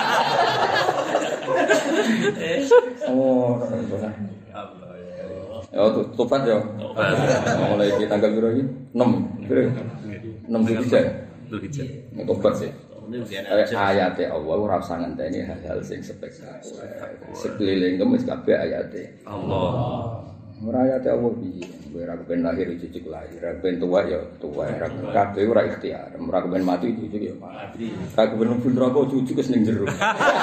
Oh, Ya tobat ya. Mulai di tanggal berapa ini? enam. enam Zulhijjah. Zulhijjah. Tobat sih. Ayat Allah ora usah ngenteni hal-hal sing spektakuler. Sekeliling kemis kabeh ayate Allah. Ora ayate Allah piye? Kowe ora kepen lahir cucuk lahir, ora kepen tuwa ya tuwa, ora kabeh ora ikhtiar, ora kepen mati cucuk ya mati. Ora kepen mlebu neraka cucuk wis ning jero.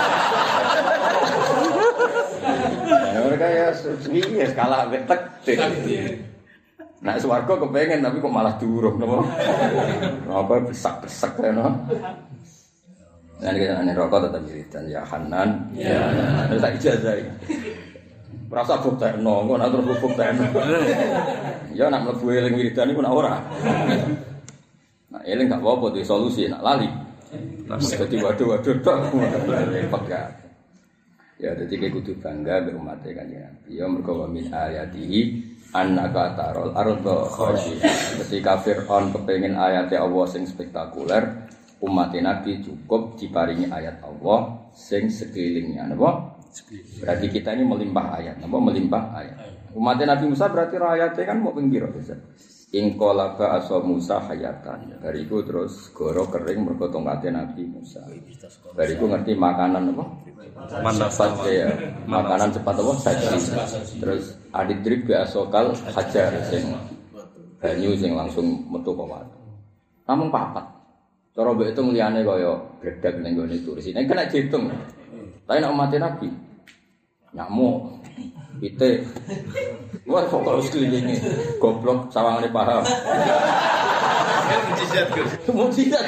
Ora kaya piye skala wek tek. Nek swarga kepengen tapi kok malah durung napa? Apa besak-besak ngono. Nah, kita ane rokok tetap wiridan ya Hanan. Ya. Terus tak ijazah iki. Rasa buktekno, kok nak terus buktekno. Ya nak mlebu eling wiridan iku nak ora. Nak eling gak apa-apa duwe solusi, nak lali. Dadi waduh-waduh tok. Repot gak. Ya dadi kowe kudu bangga mbek umat Kanjeng Nabi. Ya mergo min ayatihi annaka tarol arda khashi'ah. Ketika Fir'aun kepengin ayate Allah sing spektakuler, umat Nabi cukup diparingi ayat Allah sing sekelilingnya, napa? Berarti kita ini melimpah ayat, napa melimpah ayat. Umat Nabi Musa berarti ayatnya kan mau ping pira bisa. In qalaba asa Musa hayatan. Bariku terus goro kering mergo tongkate Nabi Musa. Bariku ngerti makanan apa? Manasat ya. Makanan cepat apa? Saji. Terus adidrib bi asokal hajar sing banyu sing langsung metu kok watu. Namung papat. Cara mbek hitung liyane kaya gredeg ning gone turis. Nek kena diitung. Tapi nek umat Nabi nyamuk, pite. Wah kok kalau sekelilingi goblok sawangane paham. Mujizat Gus. Mujizat.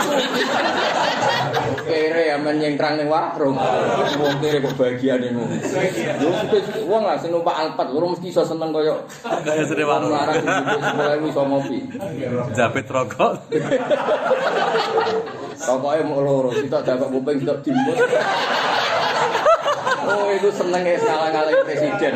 Kere amen nyengkrang ning warung. Wong kere kok bagiane ngono. Yo wong lah sing numpak Alphard lho mesti iso seneng kaya kaya sene warung larang sepuluh ribu iso ngopi. Japit rokok. Rokoke mok loro, sitok dapat kuping sitok dimbus. Oh itu seneng ya ngalah-ngalahin presiden.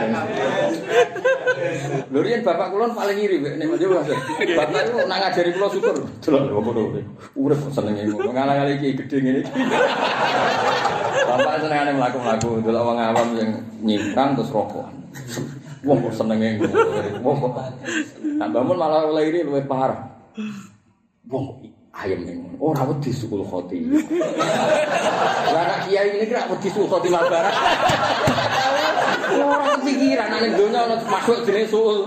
Lho riyen bapak kula paling iri nek nek Mas. Bapak itu nak ngajari kula syukur. Delok lho ngono. Urip senenge ngono ngalah-ngalahi iki gedhe ngene iki. Bapak senengane mlaku-mlaku delok wong awam sing nyimprang terus rokokan. Wong kok senenge ngono. Wong kok. Nak bangun malah oleh iri luwih parah. Wong ayam ngono. Ora wedi sukul khotimah. Lah anak kiai ini kira wedi sukul khotimah barang. Ora pikiran nek donya ono masuk jenenge sukul.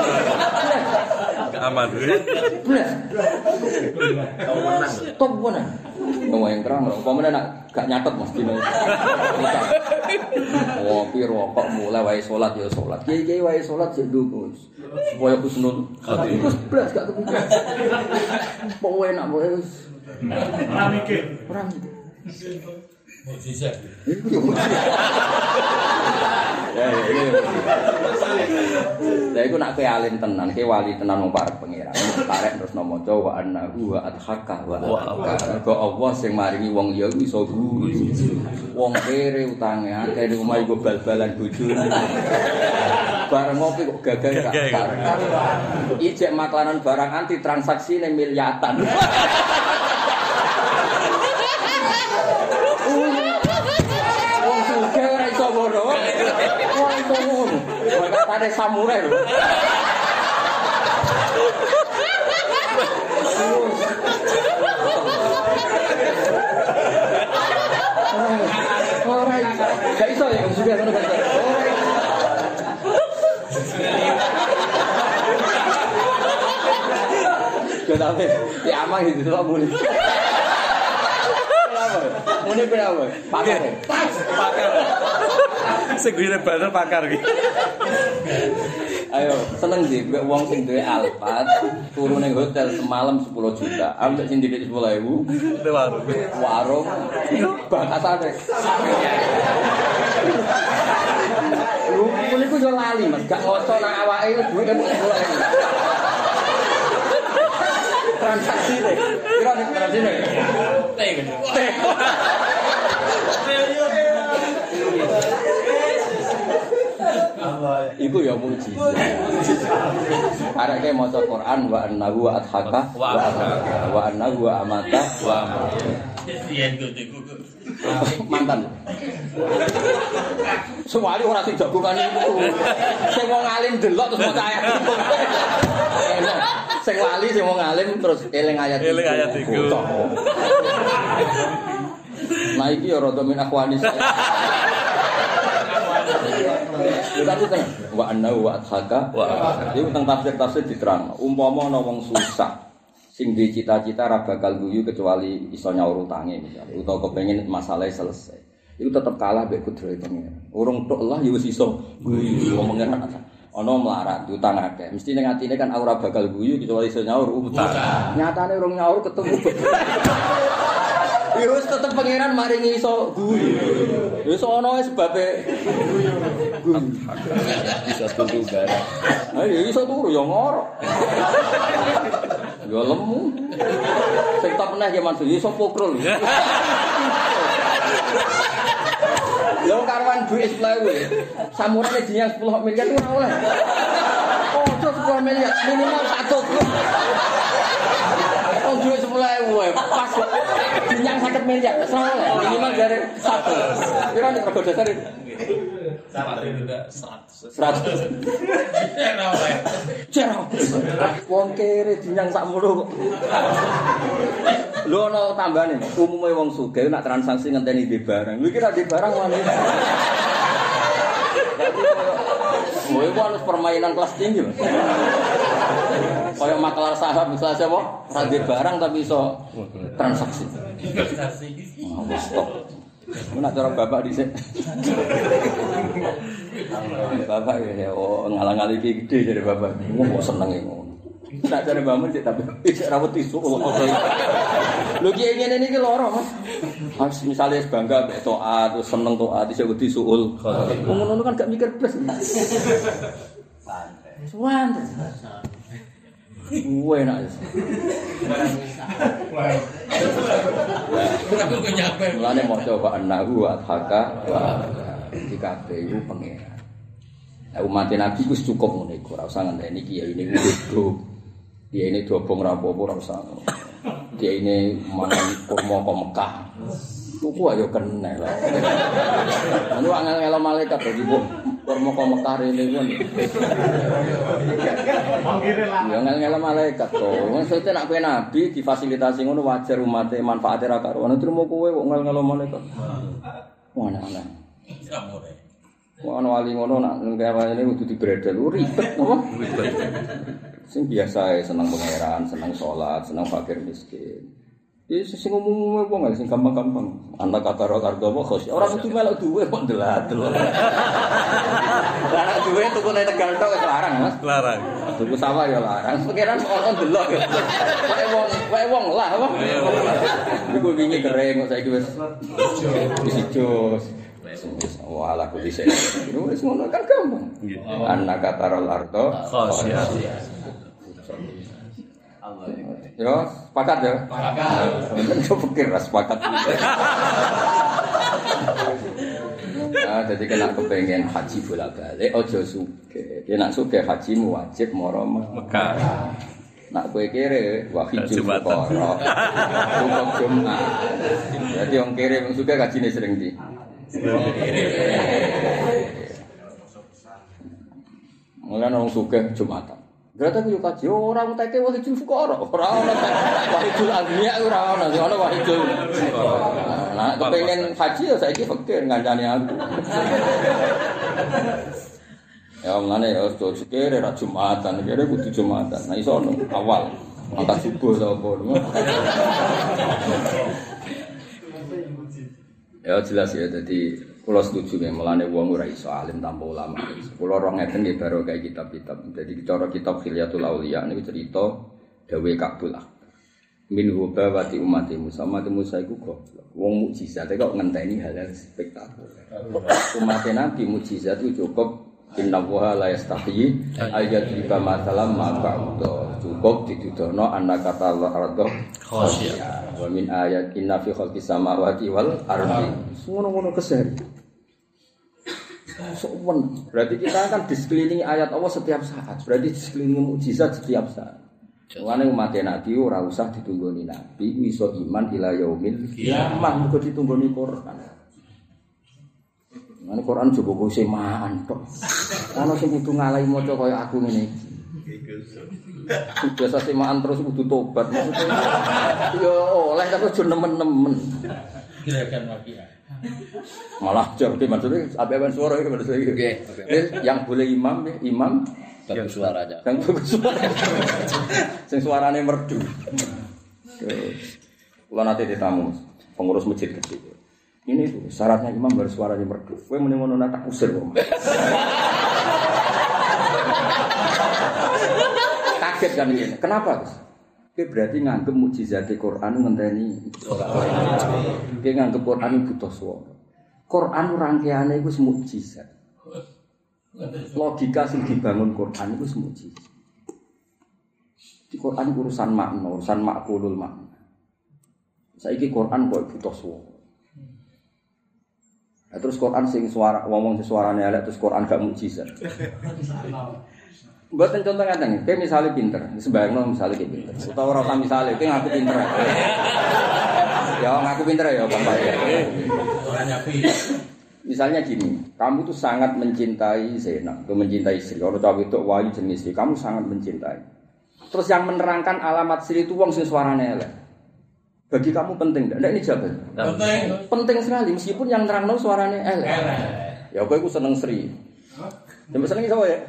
Aman. Blas. Tau menang. Top menang. Ngomong yang terang lho. Apa meneh nak gak nyatet mesti. Ngopi rokok mulai wae salat ya salat. Kiai-kiai wae salat sik nduk. Supaya husnul khotimah. Terus blas gak kepikiran. Pokoke enak wae wis. Ora mikir. Ora mikir. Mujizat. Ya ini. Lah iku nak kowe alim tenan, kowe wali tenan wong parek pangeran. Parek terus maca wa annahu wa adhaka wa abka. Kok Allah sing maringi wong liya iso guru. Wong kere utange akeh ning omah iku bal-balan bojone. Bareng ngopi kok gagal gak. Ijek maklanan barang anti transaksi ning miliatan. Wong sugih ora iso ngono. Wong iso ngono. Katane samurai lho. Ora iso. Gak iso ya wong sugih ngono gak iso. Ora iso. Kenapa? Ya amang itu tak boleh. Mune berapa? Pakar. Pakar. Segine bener pakar iki. Ayo, seneng sih wong sing duwe Alphard turu ning hotel semalam sepuluh juta. Ambek sing didik sepuluh ribu Di warung. Warung bakasane. Lu niku yo lali, Mas. Gak ngoco nang awake duwe sepuluh ribu. Transaksi deh. Kira nek transaksi deh. Teh gitu. Teh. Iku ya mujizat. Arek maca Quran wa annahu wa adhaka wa wa annahu wa amata wa amata. Mantan. Sewali ora sing jagongan iku. Sing wong alim delok terus maca ayat iku. Sing wali sing wong alim terus eling ayat iku. Eling ayat iku. Nah iki ya rada min akhwani saya. Tapi tenang, wa anna wa adhaka wa itu tentang tafsir-tafsir diterang. Umpama ana wong susah sing duwe cita-cita ra bakal guyu kecuali iso nyaur utange misalnya utawa kepengin masalah selesai. Iku tetep kalah mbek kudrate pengen. Urung tok Allah ya wis iso guyu wong pengen ana melarat utang akeh. Mesti ning atine kan ora bakal guyu kecuali iso nyaur utang. Nyatane urung nyaur ketemu. Ya wis tetep pangeran maringi iso guyu. Wis ana wae sebabe guyu. Bisa turu bareng. Ayo iso turu ya ngorok. Ya lemu. Sing tak pernah ya Mansur iso pokrol. Lho karwan duit sepuluh ribu. Samurane dinyang sepuluh miliar itu ora oleh. Oh, sepuluh miliar minimal satu. Oh, duit sepuluh ribu pas dinyang satu miliar. Ora oleh. Minimal dari satu. Kira nek rego dasar itu. Sama juga seratus. seratus. Cerah. Wong kere dinyang sakmono kok. Lho ana tambane, umume wong sugih nak transaksi ngenteni di barang. Lho iki ra di barang wani. Kowe kok harus permainan kelas tinggi, Mas. Kayak makelar saham misalnya siapa? Ra di barang tapi iso transaksi. Transaksi. Oh, stop. Mana cara bapak dhisik. Bapak ya oh ngalang-aling iki gede jare bapak. Ngomong kok senenge ngono. Nek jare mbakmu cek tapi isih ra wedi isu. Lho ki ngene niki loro, Mas. Mas misale bangga mek taat, terus seneng taat, isih wedi suul. Ngono kan gak mikir blas. Santai. Santai. Gue enak. Aku nyampe. Mulane mau coba anahu adhaka wa dikabe iku pangeran. Lah umat Nabi wis cukup ngene iku, ora usah ngenteni kiai ini grup. Kiai ini dobong ra apa-apa ora usah. Kiai ini mangan kurma kok Mekah. Tuku ayo kena lah. Anu angel-angel malaikat dadi kurma kok Mekah rene kan. Ya angel-angel malaikat to. Maksudnya nak kowe nabi difasilitasi ngono wajar umate manfaate ra karo. Ana trimo kowe kok angel-angel malaikat. Wah ana. Wah ana wali ngono nak ning kene kudu dibredel ribet apa? Sing biasa seneng pangeran, seneng salat, seneng fakir miskin. Iki sing umum-umum wong sing gampang-gampang. Anda kata ro kargo apa khos. Ora kudu melok duwe kok ndeladel. Lah duwe tuku nek Tegal tok wis larang, Mas. Larang. Tuku sawah ya larang. Pikiran ono ndelok. Kayak wong, kayak wong lah apa. Iku wingi kering kok saiki wis wis ijo. Wala kudu dhisik. Wis ngono kan gampang. Anda kata ro ardo khos ya. Ya, sepakat ya? Sepakat. Itu pikir lah sepakat. Nah, jadi kena kepengen haji bolak-balik, ojo sugih. Nek nak sugih haji wajib mara Mekah. Nak kowe kere wahijul fuqara. Untuk Jumat. Jadi wong kere wong sugih hajine sering ndi? Mulane wong sugih Jumatan. Berarti aku kaji orang teke wahidul fuqara, ora ana wahidul agniya ora ana, ana wahidul. Nah, kepengin haji ya saiki fakir ngancani aku. Ya mlane ya ojo sikire ra Jumatan, kene kudu Jumatan. Nah iso awal angkat subuh ta apa. Ya jelas ya dadi kula setuju nek melane wong ora iso alim tanpa ulama. Kula ora ngeten nggih baro kayak kitab-kitab. Dadi cara kitab Khilyatul Auliya niku cerita dawe Kabul ah. Min hubawati umati Musa, umat Musa iku goblok. Wong mukjizat kok ngenteni hal-hal spektakuler. Umat Nabi mukjizat itu cukup inna wa la yastahi ayat riba masalam ma'ba'udha. Cukup dituduhno annaka ta'ala khasya. Wa min ayat inna fi khalqis samawati wal ardi. Ngono-ngono kesehari. Sowen. Berarti kita kan disekelilingi ayat Allah setiap saat. Berarti disekelilingi mukjizat setiap saat. Mulane umat Nabi ora usah ditunggoni Nabi, iso iman ila yaumil kiamah, muga ditunggoni Quran. Nah, Quran coba gue semaan tok. Ono sing kudu ngalahi maca kaya aku ngene iki. Biasa semaan terus kudu tobat. Yo oleh tapi aja nemen-nemen. Gerakan lagi ya. Malah jauh maksudnya abeban suara itu maksudnya gitu. Yang boleh imam ya, imam bagus suaranya. Yang bagus suara. Sing suarane merdu. Kalau nanti ditamu pengurus masjid kecil. Ini tuh syaratnya imam harus suaranya merdu. Kowe muni ngono tak usir kok. Kaget kan ini. Kenapa, Gus? Oke berarti nganggep mukjizat Quran ngenteni Oke nganggep Quran butuh suara. Quran rangkaiane iku mukjizat. Logika sing dibangun Quran iku mukjizat. Di Quran urusan makna, urusan makulul makna. Saiki Quran kok butuh suara. Nah, terus Quran sing suara ngomong sing suarane elek terus Quran gak mukjizat. Mboten contoh ngaten, kowe misale pinter, sembayangno misale kowe pinter. Utawa ora usah misale, kowe ngaku pinter. Ya ngaku pinter ya, Bapak ya. Ora nyapi. Misalnya gini, kamu tuh sangat mencintai Zainab, tuh mencintai Sri. Kalau cawe itu Wahyu jenis Sri, kamu sangat mencintai. Terus yang menerangkan alamat Sri itu wong sing suarane elek. Bagi kamu penting enggak? Ndak ini jawaban. Penting. Penting sekali meskipun yang nerangno suarane elek. Ya kowe iku seneng Sri. Sampai seneng sapa ya?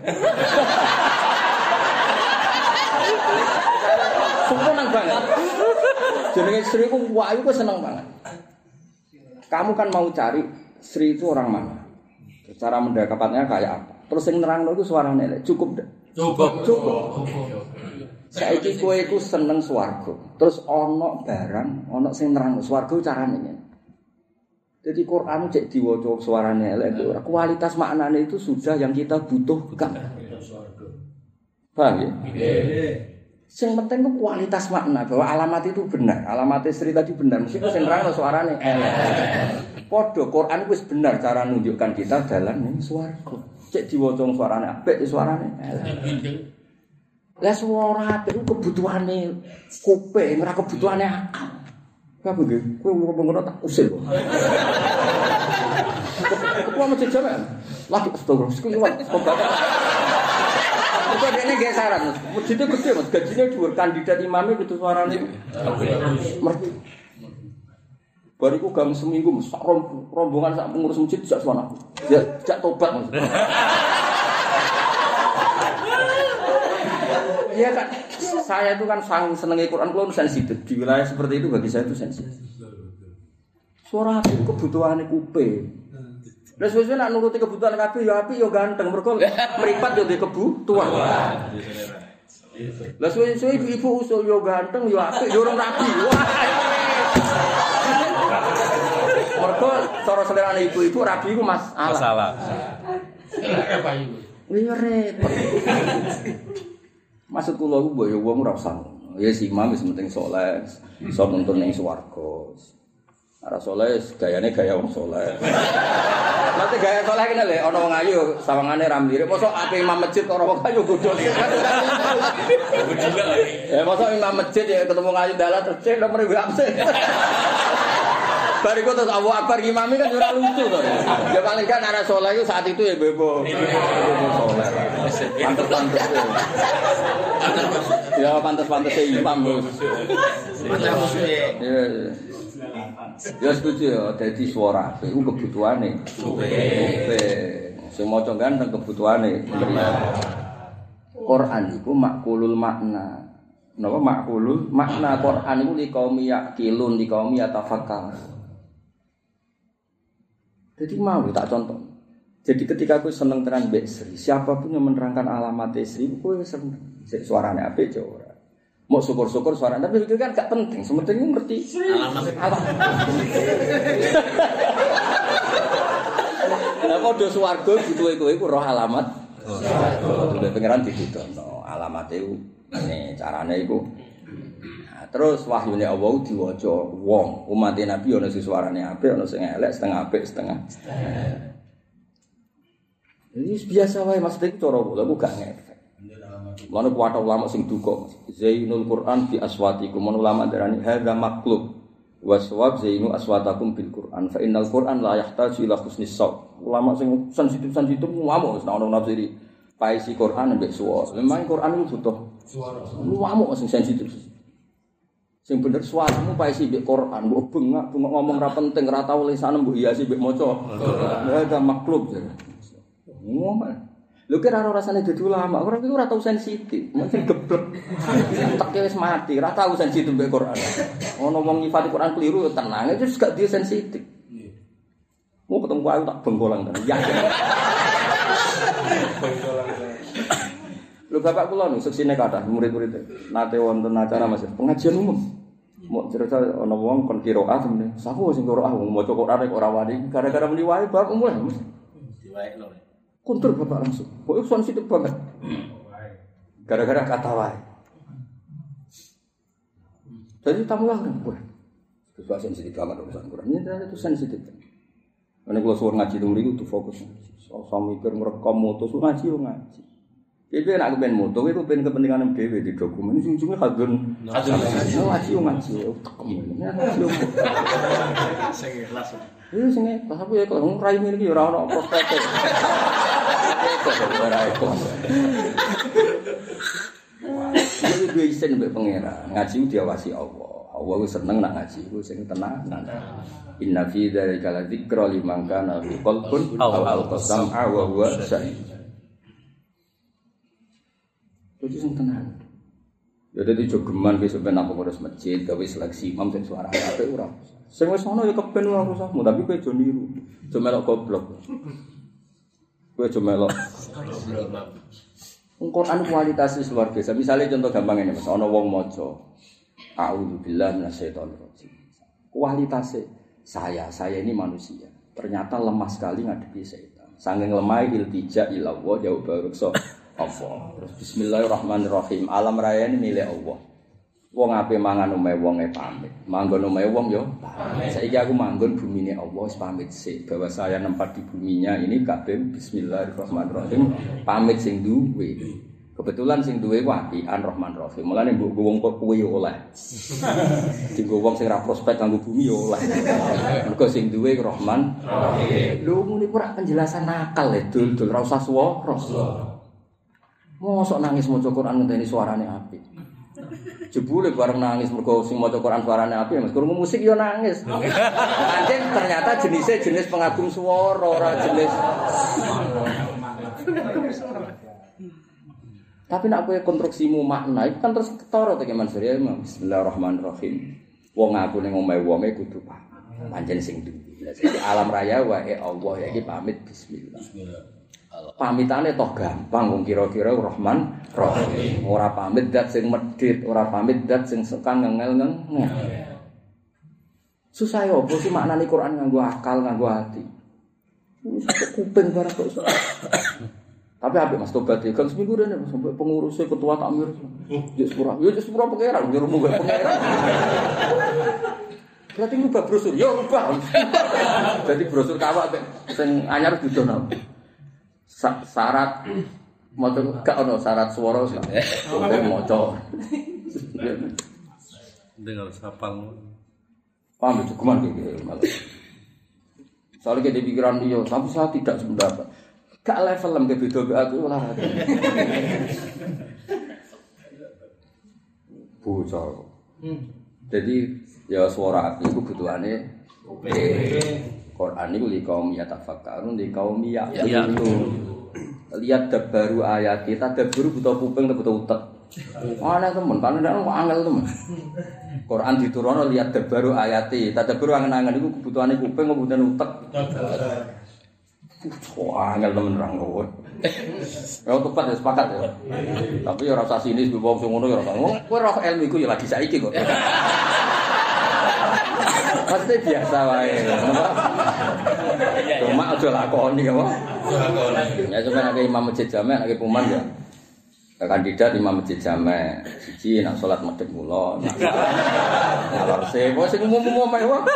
Seneng banget. Jenenge Sri ku Wahyu ku seneng banget. Kamu kan mau cari Sri itu orang mana? Cara mendekatnya kayak apa? Terus yang nerangno itu suarane elek. Cukup enggak? Cukup. Cukup. Saiki kowe iku seneng swarga. Terus ana barang, ana sing nerangno swarga carane ngene. Jadi Quran cek diwaca suarane elek ora kualitas maknane itu sudah yang kita butuhkan. Paham ya? Sing penting itu kualitas makna bahwa alamat itu benar. Alamat Sri tadi benar. Meskipun sing nerangno suarane elek. Padha Quran wis benar cara nunjukkan kita dalan ning swarga. Cek diwaca suarane apik suarane elek. Lah suara apik ku kebutuhane kuping, ora kebutuhane akal. Apa nggih? Kowe ngomong tak usil kok. Ketua masjid jaman. Lagi astagfirullah, sekliwat obat. Itu dene nggih saran. Masjidnya gede Mas, gajinya dhuwur kandidat imame kudu suarane. Merti. Bariku gang seminggu sak rombongan sak pengurus masjid sak suara. Ya, jak tobat Mas. Iya kan, saya itu kan sangat senengi Quran, kalau sensitif di wilayah seperti itu bagi saya itu sensitif. Suara hati itu kebutuhannya kuping. Dan sesuai nak nuruti kebutuhan hati, ya hati ya ganteng, mereka meripat ya di kebutuhan. Lah sesuai ibu-ibu usul ya ganteng, ya hati, ya orang rapi. Mereka cara selera ibu-ibu rapi itu masalah. Masalah. Apa itu? Ini repot. Maksud kula ku mbok ya wong ora usah. Ya si imam wis penting saleh, iso nuntun ning swarga. Ora saleh gayane gaya wong saleh. Nanti gaya saleh kene lho ana wong ayu sawangane ra mirip. Mosok ape imam masjid ora wong ayu godhol. Ya mosok imam masjid ya ketemu ayu dalan terus cek nomor absen. Bariku terus Allahu Akbar imami kan ora lucu to. Ya paling kan arah saleh itu saat itu ya bebo. Bebo saleh. Pantes-pantes. Ya pantes-pantes imam, Bos. Pantes Ya. Ya setuju ya dadi suara iku kebutuhane. Oke. Sing maca ganteng kebutuhane. Quran iku makulul makna. Napa makulul makna Quran iku li kaum yaqilun li kaum yatafakkarun. Jadi mau tak contoh. Jadi ketika aku seneng tenan mbek Sri, siapapun yang menerangkan alamat Sri, aku seneng. Suarane apik yo ora. Mau syukur-syukur suarane, tapi itu kan gak penting. Sementing ngerti alamat. Lah padha swarga butuhe kowe iku roh alamat. Sudah pengiran ditudono alamate ngene carane iku. Terus wahyune Allah diwaca wong umat Nabi ana sing suarane apik ana sing elek setengah apik setengah. Ini biasa wae maksudnya itu cara kula ku gak ngefek. Mana kuwata ulama sing duka Zainul Quran fi aswatikum ulama darani hadza maklub Waswab zainu aswatakum bil Qur'an fa innal Qur'an la yahtaju ila husnis shaut. Ulama sing sensitif-sensitif ngamuk nek ana nafsiri paisi Qur'an mbek suara. Memang Qur'an itu butuh suara. Ngamuk sing sensitif. Sing bener suaramu paisi mbek Qur'an, mbok bengak, bengok ngomong ra penting, ra tau lisan mbok hiasi mbek maca. Ya ada makhluk jare. Ngomong. Lho kira ora rasane dadi ulama, ora iku ora tau sensitif, mungkin geblek. Teke wis mati, ora tau sensitif mbek Quran. Ono wong nyifati Quran keliru tenang, itu gak dia sensitif. Mau ketemu aku tak bengkolang tenan. Ya. Bengkolang. Lho bapak kula nu seksine kathah murid-murid nate wonten acara Mas pengajian umum. Mau cerita ana wong kon qiraat temen. Sapa sing qiraat wong maca Quran ora wani gara-gara muni wae bab mulai. Diwaekno. Kontur bapak langsung. Kok itu sensitif banget. Gara-gara kata wae. Jadi tamu lah kan. Wah. Itu sensitif banget urusan Quran. Ini itu sensitif. Karena kalau suruh ngaji itu mriku tuh fokus. Soal mikir merekam moto suruh ngaji yo ngaji. Jadi nak kepen moto itu pengen kepentingan dhewe di dokumen ini ujung-ujungnya hadun. Hadun ngaji yo ngaji. Ngaji. Sing ikhlas. Iya sing ikhlas apa ya kalau rai iki ora ono prospek. Ora ikhlas. Jadi dua isen mbek pangeran. Ngaji diawasi Allah. Allah ku seneng nak ngaji ku sing tenanan. Inna fi dzalika la dzikra liman kana fi qalbin aw al-qasam wa huwa syahid. Jadi sing tenan. Ya dadi jogeman wis ben apa ngurus masjid, gawe seleksi imam sing suarane apik ora. Sing wis ono ya kepen ora usah, tapi kowe aja niru. Aja melok goblok. Kowe aja melok. Quran kualitasnya luar biasa. Misalnya contoh gampang ini Mas, ana wong maca a'udzubillahi minasyaitonir rajim. Kualitasnya saya, saya ini manusia. Ternyata lemah sekali ngadepi setan. Saking lemah iltija ila Allah jauh barukso Allah. Terus bismillahirrahmanirrahim. Alam raya ini milik Allah. Wong ape mangan omahe wonge pamit. Manggon omahe wong yo pamit. Saiki aku manggon bumine Allah wis pamit sik. Bahwa saya nempat di buminya ini kabeh bismillahirrahmanirrahim. Pamit sing duwe. Kebetulan sing duwe ku apian Rahman Rahim. Mulane mbok wong kok kuwi yo oleh. Dienggo wong sing ra prospek kanggo bumi yo oleh. Mergo sing duwe Rahman Rahim. Lho muni ora penjelasan nakal e dul-dul ra usah swara. Mosok nangis maca Quran ngenteni suarane apik. Jebule bareng nangis mergo sing maca Quran suarane apik, Mas. Krungu musik yo nangis. Anjen ternyata jenisnya jenis pengagum swara, ora jenis. Tapi nek kowe konstruksimu makna iku kan terus ketara to Mansur ya. Bismillahirrahmanirrahim. Wong aku ning omahe wonge kudu pamit. Pancen sing duwe. Alam raya wae Allah ya iki pamit bismillah. Pamitane toh gampang wong kira-kira Rahman Rahim. Ora pamit dat sing medhit, ora pamit dat sing sekang ngengel-ngengel. Susah yo opo sih maknane Quran nganggo akal, nganggo ati. Wis kuping barang kok. Tapi apik Mas tobat ya kan seminggu rene sampai pengurusnya ketua takmir. Ya sepura, ya sepura pangeran, ya rumo pangeran. Berarti ngubah brosur, ya rubah. Jadi brosur kawak sing anyar didono. Syarat maca gak ono syarat swara sing maca. Dengar sapal. Paham cukuman iki malah. Soalnya kita pikiran dia, tapi saya tidak sependapat. Gak level lem ke beda be aku olahraga. Bocor. Jadi ya suara ati iku butuhane Quran niku li kaum ya tafakkarun li kaum ya itu. Lihat dabaru ayat kita dabaru butuh kuping butuh utek. Ana temen kan nek angel temen. Quran diturunno lihat dabaru ayati, tadabbur angen-angen iku kebutuhane kuping kebutuhan utek. Wah, angel temen ra ngono. Ya tepat ya sepakat ya. Tapi ya ora usah sinis wong sing ngono ya ora. Kowe roh ilmu iku ya lagi saiki kok. Pasti biasa wae. Cuma aja lakoni apa? Ya cuma nek imam masjid jamaah nek puman ya. Kandidat imam masjid jamaah. Siji nak salat madhep kula. Ngalor sewo sing umum-umum ae wae.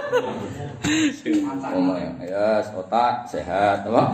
Omah ya, otak sehat, apa?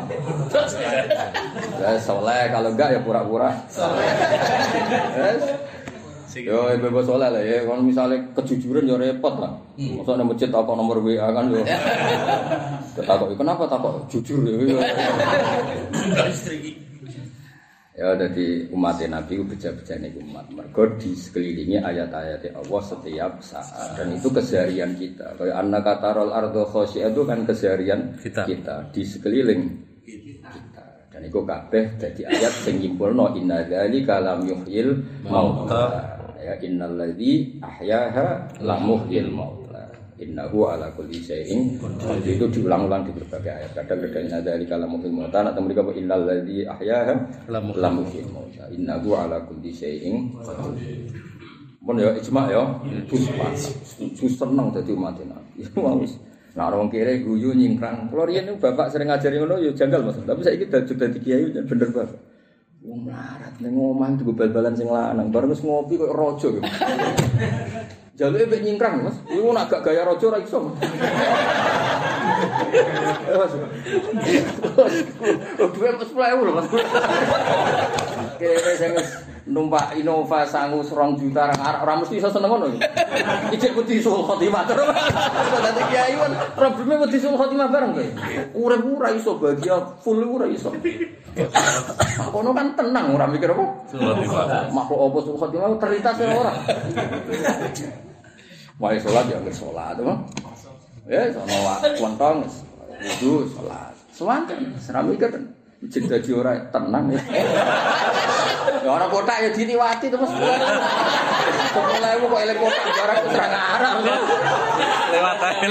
Ya soleh, kalau enggak ya pura-pura soleh. Yes. Yo bebas soleh lah ya. Kalau misalnya kejujuran yo repot lah. Masa nang masjid takok nomor W A kan yo. Takok kenapa takok jujur yo. Sudah istri. Ya jadi umat Nabi itu beja-bejane umat. Mergo di sekelilingi ayat-ayat Allah setiap saat dan itu keseharian kita. Kayak annaka tarol ardo khosyi'ah itu kan keseharian kita. kita di sekeliling kita. Dan itu kabeh dadi ayat sing nyimpulno inna dzalika lam yuhyil mauta. Ya innal ladzi ahyaha la muhyil mauta. Innahu ala kulli syai'in qadir. Itu diulang-ulang di berbagai ayat. Kadang-kadang inna dzalika la muhyil mauta atau mereka innal ladzi ahyaha la muhyil mauta. Innahu ala kulli syai'in qadir. Mun ya ijma ya, itu seneng dadi umat Nabi. Wis nah orang kere guyu nyingkrang. Kulo riyen bapak sering ngajari ngono ya janggal Mas. Tapi saiki dadi dadi kiai bener bapak. Wong melarat ning omah itu bal-balan sing lanang. Bareng wis ngopi kok raja gitu. Jaluke mek nyingkrang Mas. Iku nek gak gaya raja ora iso. Mas. Duwe sepuluh ribu lho Mas. Kere sing numpak Innova sangu serong juta ora mesti iso seneng ngono. Ijek wedi sul khotimah terus. Dadi kiai kan probleme wedi sul khotimah bareng kowe. Urip ora iso bahagia full ora iso. Kono kan tenang ora mikir apa? Sul khotimah. Makhluk apa sul khotimah terlintas ora. Wae salat ya nggih salat, to. Ya sono wonten wudu salat. Sewanten ora mikir. Jek dadi ora tenang ya. Ya ora kotak ya diliwati terus. sepuluh ribu kok elek kotak barang ora ngarep. Lewat ae.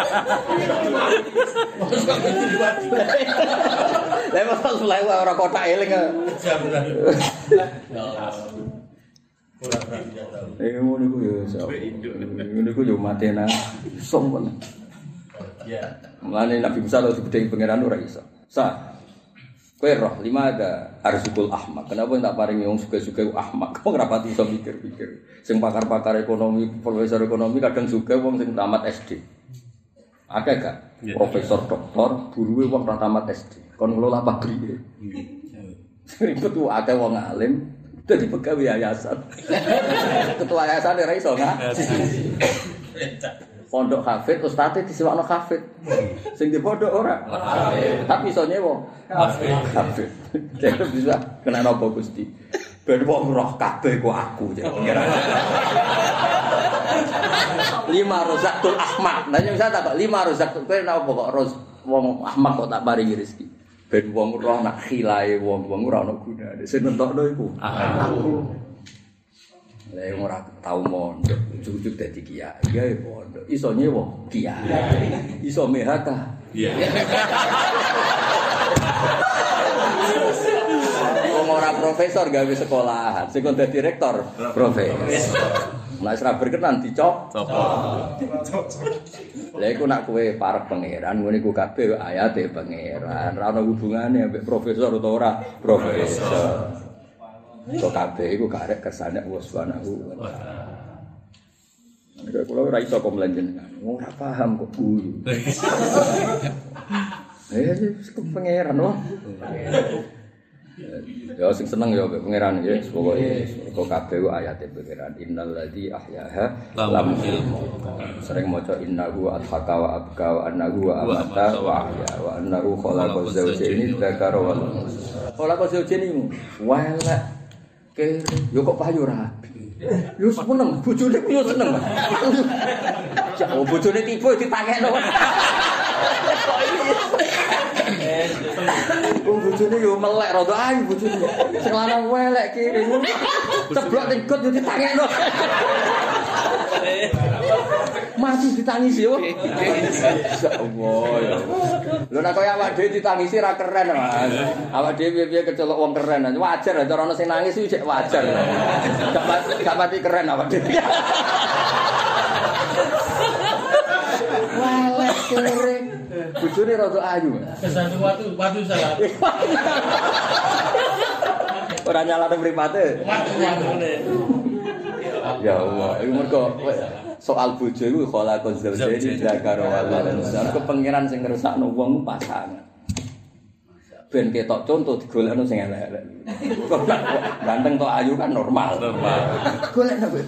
Terus kok diliwati. Lah mosok sepuluh ribu ora kotak eling. Jam ora. Ya Allah. Ora berani tahu. Eh ngono iku ya sapa. Ngono iku yo matena. Sompon. Ya. Mulane Nabi Musa lho digedhe pangeran ora iso. Sa kowe roh lima ada arzukul ahmak. Kenapa tak paringi wong suka-suka ahmak? Kok ora pati iso mikir-mikir. Sing pakar-pakar ekonomi, profesor ekonomi kadang juga wong sing tamat S D. Akeh gak? Profesor doktor, buruwe wong ora tamat S D. Kon ngelola pabrik. Ribet ku akeh wong alim dadi pegawai yayasan. Ketua yayasan ora iso ngaji. Pondok hafid ustate disewakno hafid. Sing di pondok ora. Tapi iso nyewa. Hafid. Hafid. Jadi bisa kena napa Gusti. Ben wong roh kabeh ku aku jek pengira. Lima rozakul ahmak. Nah bisa tak kok lima rozakul kowe napa kok roz wong ahmak kok tak paringi rezeki. Ben wong roh nak khilae wong-wong ora ono gunane. Sing nentokno iku aku. Lah ora tau mondok, ujug-ujug dadi kiai, gawe mondok. Iso nyewa kiai. Iso M H K. Iya. Wong ora profesor gawe sekolahan, sing dadi rektor profesor. Nek ora berkenan dicop. Lah iku nak kowe parek pangeran, ngene iku kabeh ayate pangeran. Ora ono hubungane ambek profesor utawa ora profesor. Kok kabeh iku karek kersane Allah Subhanahu wa taala. Nek kula ora iso kok mlenjenengan. Ora paham kok guru. Eh, kok pangeran loh. Ya sing seneng ya mbek pangeran ya, pokoke kok kabeh ku ayate pangeran innal ladzi ahyaha lam sering maca innahu adhaka wa abka wa annahu wa amata wa ahya wa annahu khalaqal zawjaini dzakara wal unsa. Khalaqal zawjaini wala kere yo kok payu rapi. Yo seneng bojone yo seneng. Ya bojone tiba ditakekno. Wong bojone yo melek rada ayu bojone. Sing lanang welek kiri. Ceblok ning got yo ditakekno. Mati ditangisi yo. Insyaallah ya. Lho nek kaya awak dhewe ditangisi ra keren, Mas. Awak dhewe piye kecelok wong keren. Wajar cara ana sing nangis iki wajar. Gak mati keren awak dhewe. Welek kiri. Bojone rada ayu. Kesan watu, watu salah. Ora nyalane mripate. Watu watune. Ya Allah, iku mergo soal bojo iku khalaqal zawjaini dzakara wal unsa. Kepengiran sing ngersakno wong pasangan. ben ketok contoh digolekno sing elek-elek. Kok ganteng tok ayu kan normal. Normal. Golekno kowe.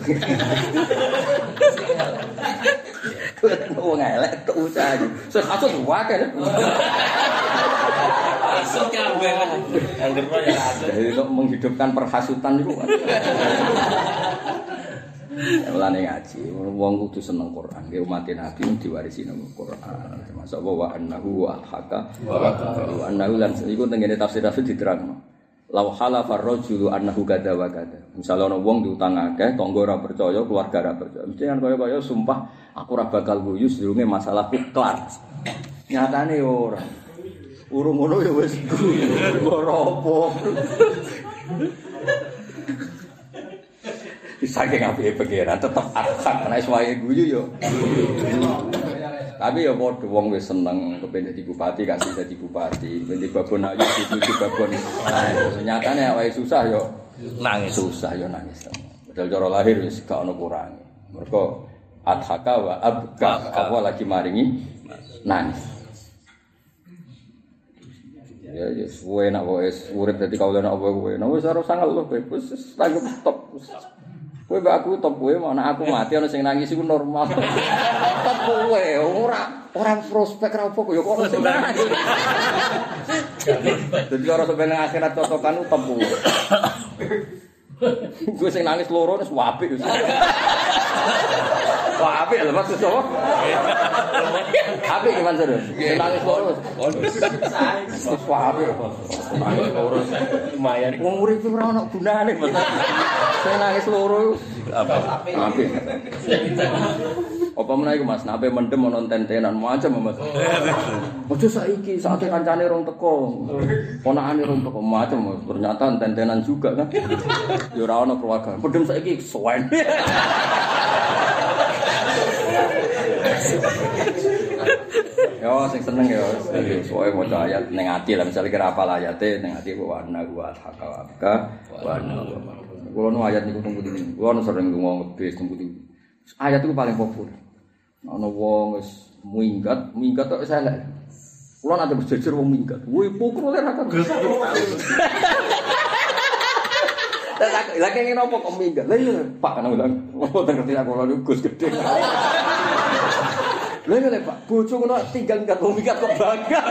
Golekno wong elek kok usah ayu. Sing kasut wae. Asuk kabeh. Angger ya asuk. Jadi untuk menghidupkan perhasutan itu. Mulane ngaji, wong kudu seneng Quran. Ki umat Nabi diwarisi nang Quran. Termasuk wa annahu wa al-haqa wa annahu lan iku tengene tafsir tafsir diterangno. Law halafa ar-rajulu annahu kadza wa kadza. Misale ana wong diutang akeh, tangga ora percaya, keluarga ora percaya. Mesti kan kaya-kaya sumpah aku ora bakal guyu sedurunge masalahku kelar. Nyatane ora. Urung ngono ya wis goropo. Saking apike pengiran tetep aksak nek wae guyu yo. Tapi ya padha wong wis seneng kepen dadi bupati kasih dadi bupati, ben babon ayu dadi babon. Nyatane awake susah yo nangis, susah yo nangis. Padahal cara lahir wis gak ono kurange. Mergo adhaka wa abka apa lagi maringi nangis. Ya ya suwe nak wis urip dadi kawula nak kowe. Nah wis ora sangal lho kowe. Wis tanggep stop. Kowe mbak aku top kowe mau nek aku mati ana sing nangis iku normal. Top kowe ora ora prospek ra opo ya kok sing nangis. Dadi ora sampe nang akhirat cocokan top kowe. Gue sing nangis loro wis apik wis. Wah apik lho maksud apa? Apik gimana terus? Sing nangis loro. Wis apik. Nangis loro lumayan. Wong urip ora ono gunane, Mas. Sing nangis loro apa? Apik. Apa meneh iku Mas, nape mendem ono tentenan macam Mas. Ojo saiki saate kancane rong teko. Ponakane rong teko macam ternyata tentenan juga kan. Ya ora ono keluarga. Mendem saiki suwen. Yo sing seneng yo, soe maca ayat ning ati lah misale kira apal ayate ning ati wa anna wa hakawaka wa anna. Kulo nu ayat niku teng pundi. Kulo nu sering ngomong ngebis teng pundi. Ayat itu paling populer. Ana wong wis minggat, minggat tok wis elek. Kulo nate berjejer wong minggat. Woi pukul ora kan. Lah kene nopo kok minggat. Lah iya Pak kan bilang, "Oh, ngerti aku lho Gus gede." Lha ngene Pak, bojo ngono tinggal minggat wong minggat kok bangga.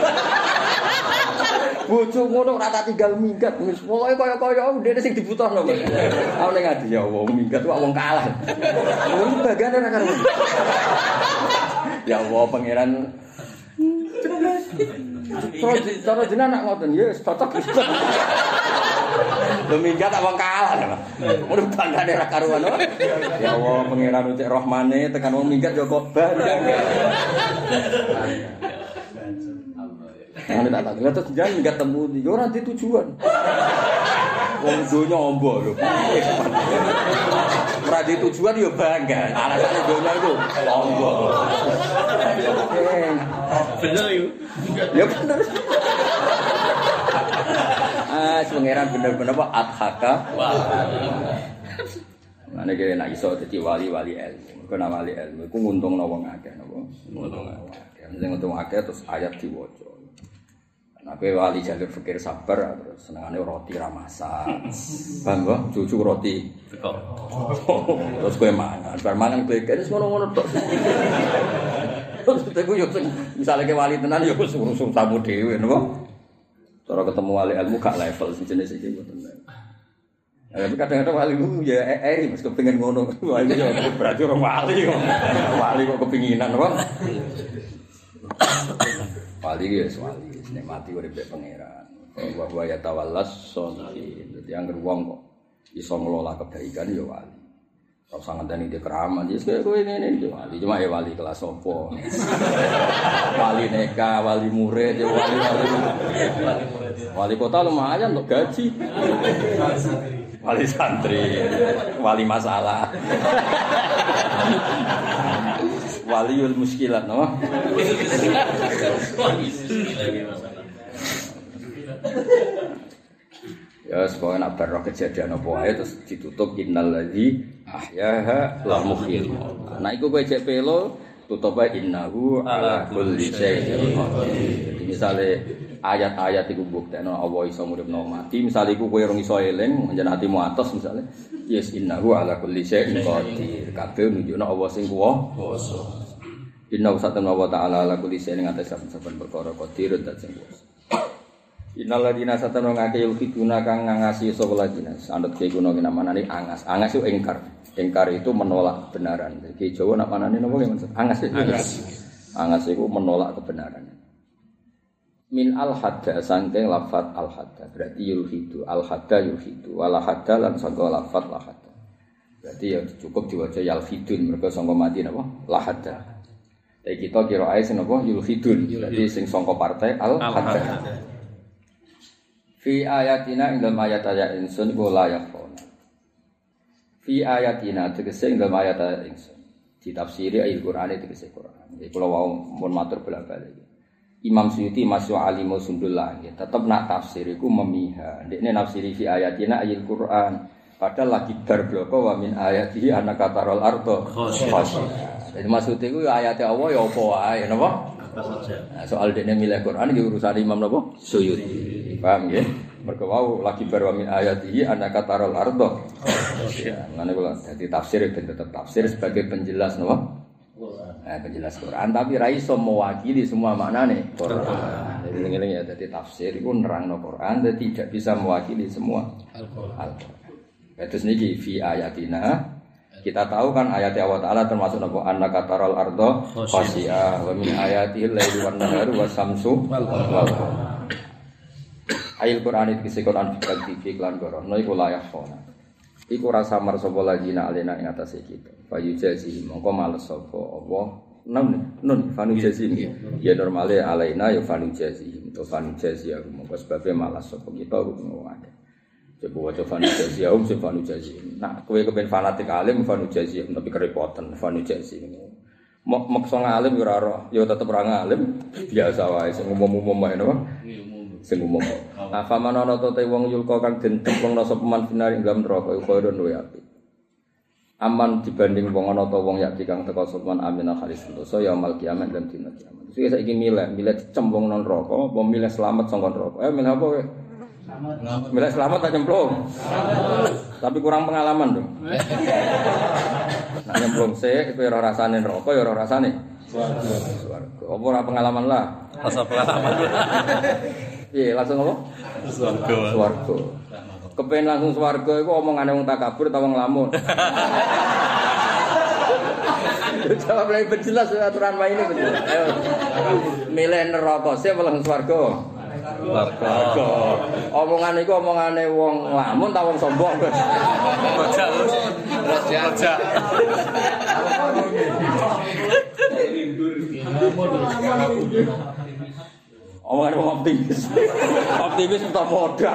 Bojo ngono ora tak tinggal minggat, wis pokoke kaya-kaya ndene sing dibutuhno kok. Aku ning ati ya wong minggat kok wong kalah. Wong bagian ora karo. Ya Allah pangeran. Terus cara jenengan nak ngoten ya wis cocok. Lho minggat tak wong kalah lho. Mun banggane ra karuan. Ya Allah pangeran utik rahmane tekan wong minggat ya kok bangga. Ana tak tak terus jangan minggat temu yo ora di tujuan. Wong donya ombo lho. Ora di tujuan yo bangga. Alasane donya itu ombo. Bener yo. Ya bener. Ah, pangeran bener-bener apa adhaka. Mane kene nek iso dadi wali-wali ilmu. Mergo nek wali ilmu iku nguntungno wong akeh napa? Nguntungno akeh. Sing untung akeh terus ayat diwaca. Nek wali jalur fikir sabar terus senengane roti ra masak. Paham kok? Cucu roti teko. Terus kowe mangan, bar mangan gleken wis ngono-ngono tok. Terus teku yo misale ke wali tenan yo wis urus tamu dhewe napa? Cara ketemu wali ilmu gak level sejenis iki mboten. Ya tapi kadang-kadang wali ilmu ya eri Mas kepengin ngono. Wali yo berarti orang wali kok. Wali kok kepinginan apa? Wali ya wali, nek mati uripe pangeran. Wa wa ya tawallas sholihin. Dadi anggere wong kok iso ngelola kebaikan ya wali. Ora usah ngandani dia keramat, wis kowe ngene iki wali. Cuma ya wali kelas opo. Wali neka, wali murid, ya wali wali. Wali kota lumayan untuk gaji. Wali santri, wali masalah. Waliul muskilat, no? Ya sebagai nak berroh kejadian apa ae terus ditutup innal ladzi ahyaha la muhyil. Nah iku kowe cek pelo tutup ae innahu ala kulli syai'in qadir. Jadi misale ayat-ayat iku buktekno Allah iso nguripno mati. Misale iku kowe ora iso eling, njen atimu atos misale. Yes innahu ala kulli syai'in qadir. Kabeh nunjukno Allah sing kuwasa. Inna usatana wa ta'ala ala kulli syai'in atas saben perkara qadir dan sing kuwasa. Innal ladina satana ngake yulfituna kang ngangasi sapa ladina. Sanut ke kuno ki namane angas. Angas itu engkar. Engkar itu menolak kebenaran. Ki Jawa nak manane napa ki maksud? Angas itu. Angas. Angas itu menolak kebenaran. Min al-hadda sangking lafat al-hadda. Berarti yulfitu al-hadda yulfitu wala hadda lan sangka lafat la hadda. Berarti ya cukup diwaca yalfidun mergo sangka mati napa? La hadda. Tapi kita kira ae sing napa yulfidun. Berarti sing sangka partai al-hadda. Fi ayatina ing dalam ayat-ayat insun iku layak ana. Fi ayatina tegese ing dalam ayat-ayat insun. Ditafsiri ayat Qur'an tegese Qur'an. Iki kula wau mun matur bolak-balik. Imam Suyuti masuk alimu sundullah ya. Tetep nak tafsir iku memiha. Ndekne nafsiri fi ayatina ayat Qur'an. Padahal lagi darbloko wa min ayatihi annaka taral ardo khashi'ah. Jadi maksud iku ya ayat Allah ya apa wae napa? Nah, soal dene milih Quran iki urusan Imam napa? Suyuti. Paham nggih? Mergo wau lagi bar wa min ayatihi annaka taral ardo. Ya, ngene kula dadi tafsir ben tetep tafsir sebagai penjelas napa? Nah, penjelas Quran tapi ra iso mewakili semua maknane Quran. Jadi ngene ya dadi tafsir iku nerangno Quran dan tidak bisa mewakili semua Al-Qur'an. Terus niki fi ayatina kita tahu kan ayat Allah Ta'ala termasuk napa annaka taral ardo khashi'ah wa min ayatihi al-laili wan naharu was-samsu wal qamar. Ayat Quran iki Quran fikih lan gorono iku layak ana. Iku rasa mar sapa lagina alena ing atase kita. Fayu jazi mongko males sapa Allah. Nun nun fanu jazi. Ya normale alena ya fanu jazi. To fanu jazi aku mongko sebabe malas sapa kita ngono wae. Coba waca fanu jazi um se fanu jazi. Nah, kowe kepen fanatik alim fanu jazi tapi kerepotan fanu jazi. Mok maksa ngalim yo ora ora, yo tetep ora ngalim. Biasa wae sing umum-umum wae napa? Sing umum. Apa manono to te wong yulka kang den templungna sapa man binari ing neraka iku khairun luwih apik. Aman dibanding wong ana to wong yakti kang teka sapa man aminah khalis dosa ya mal kiamat dan dina kiamat. Terus saiki milih, milih dicemplungna neraka apa milih selamat saka neraka? Eh milih apa kowe? Selamat. Milih selamat tak cemplung. Tapi kurang pengalaman dong. Nek nyemplung sik kowe ora rasane neraka ya ora rasane swarga. Swarga. Apa ora pengalaman lah? Rasa pengalaman. Iya, langsung apa? Swarga. Swarga. Kepen langsung swarga iku omongane wong takabur ta wong lamun. Jawab lagi berjelas aturan main ini betul. Ayo. Milih neraka sih apa langsung swarga? Swarga. Omongan iku omongane wong lamun ta wong sombong. Baca terus. Baca. Omongan wong optimis. Optimis untuk modal.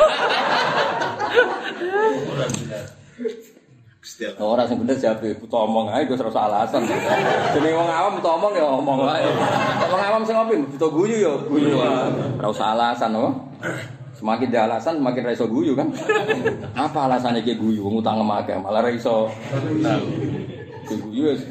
Orang sing bener jawab butuh omong ae wis ora alasan. Jenenge wong awam butuh omong ya omong wae. Wong awam sing ngopi butuh guyu ya guyu wae. Ora usah alasan to. Semakin dia alasan semakin ra iso guyu kan. Apa alasane ki guyu wong utang akeh malah ra iso. Guyu wis.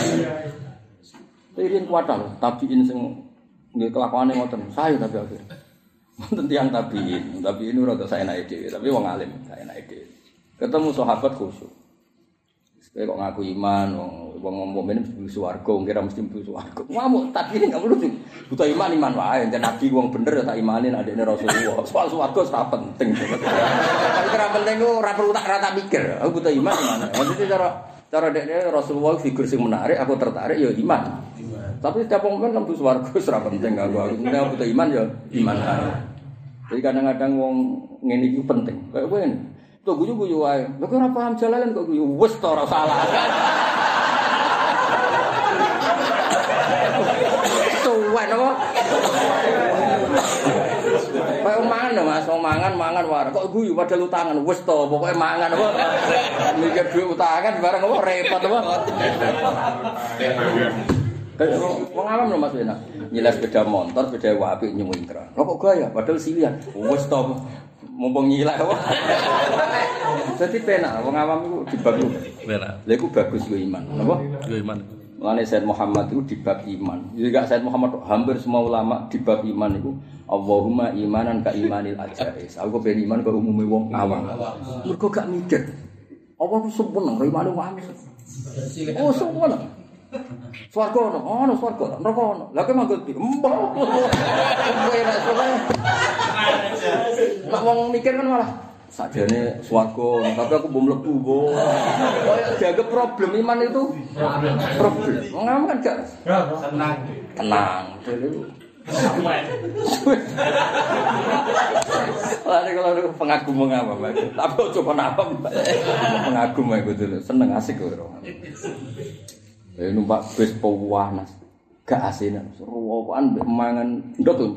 Irin kuatan tabiin sing nggih kelakuane ngoten. Saya tapi akhir. Wonten tiyang tabiin, tabiin ora tak saenake dhewe, tapi wong alim saenake dhewe. Ketemu sahabat khusyuk. Kayak kok ngaku iman, wong mukmin mlebu swarga, kira mesti mlebu swarga. Ngamuk tabiin enggak perlu buta iman iman wae, yen nabi wong bener ya tak imanin adekne Rasulullah. Soal swarga ora penting. Tapi ora penting ku ora perlu tak rata mikir. Aku buta iman iman. Maksudnya cara cara dekne Rasulullah figur sing menarik, aku tertarik ya iman. Tapi setiap orang kan mlebu swarga ora penting aku. Aku nek butuh iman ya iman ae. Jadi kadang-kadang wong ngene iki penting. Kayak kowe ngene. Tuh guyu-guyu wae. Lha kok ora paham jalalan kok guyu. Wis to ora salah. Tuwek apa? Kayak mangan Mas, mangan mangan wae. Kok guyu padahal utangan. Wis to pokoke mangan apa. Mikir duit utangan bareng apa repot apa. Wong awam lho Mas enak. Nyilas sepeda motor, sepeda apik nyuwingkra. Lho kok gaya padahal silian. Wis to mumpung nyilak apa. Dadi penak wong awam iku dibagus. Penak. Lha iku bagus iku iman. Napa? Yo iman. Mulane Said Muhammad itu di bab iman. Jadi gak Said Muhammad hampir semua ulama di bab iman itu Allahumma imanan ka imanil ajais. Aku pengen iman ke umume wong awam. Mergo gak mikir. Apa ku sempurna imane wong awam. Oh sempurna. Swarga ono, ono swarga, neraka ono. Lah kok manggot iki? Mbah. Lah wong mikir kan malah sakjane swarga, tapi aku belum mlebu kok. Kayak dianggap problem iman itu problem. Ngomong kan gak tenang. Tenang. Lha kalau pengagum ngapa, Mbak? Tapi coba napa, Mbak? Pengagum aku dulu, seneng asik kok. Eh numpak bis pewanas. Gak asinan, seruan mangan ndok tuh.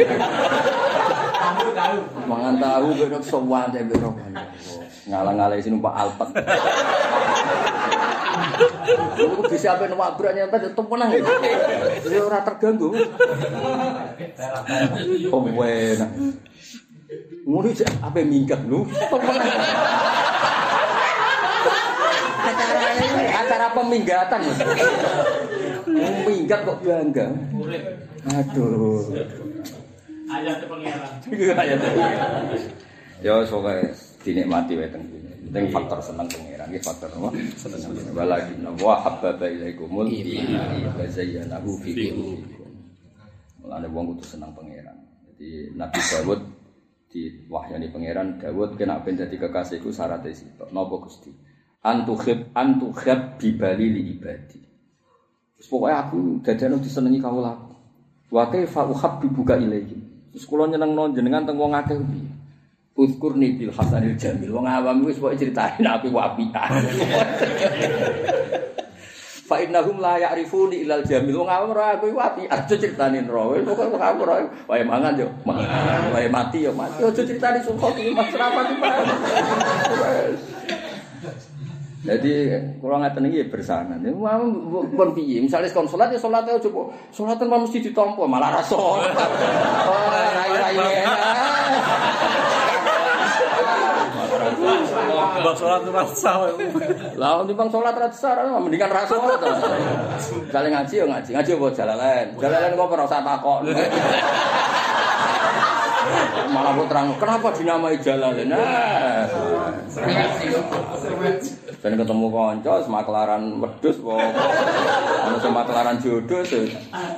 Tahu tahu. Mangan tahu bedok sowan teh bedok. Ngalang-alai sini numpak Alphard. Aku bisa ape numpak brak nyampe tetep menang. Jadi ora terganggu. Oh enak. Ngono sih ape minggat lu. Acara acara peminggatan. Minggat kok bangga. Aduh. Ayat pengiran. Ayat. Ya sokae dinikmati wae teng kene. Penting faktor seneng pengiran iki faktor apa? Seneng. Walaki wa habbaba ilaikumul iman wa zayyanahu fi qulubikum. Mulane wong kudu seneng pengiran. Jadi Nabi Dawud di wahyani pengiran Dawud kena ben dadi kekasihku syaratnya sitok. Napa Gusti? Antukhib antukhib bibali li ibadi. Pokoknya aku dadane disenengi kawulaku. Wa kaifa uhabbibuka ilaihi. Terus kula nyenengno jenengan teng wong akeh piye? Uzkurni bil hasanil jamil. Wong awam wis pokoke critani api wapian. Fa innahum la ya'rifuni ilal jamil. Wong awam ora aku wapi. Aja critani ro. Pokoke wong awam ora wae mangan yo mangan. Wae mati yo mati. Aja critani sumpah iki mas rapati Pak. Jadi kalau ngaten iki bersanan. Mau pun piye? Misale kon salat ya salat aja coba. Salatan mesti ditampa malah ra salat. Oh, rai-rai. Bang salat ora sah. Lah timbang salat ra sah, mendingan ra salat. Misale ngaji ya ngaji, ngaji apa jalalan. Jalalan kok ora usah takok. Malah kok terang, kenapa dinamai jalalan? Nah. Ben ketemu kanca semaklaran wedhus kok. Ono semaklaran jodoh sih.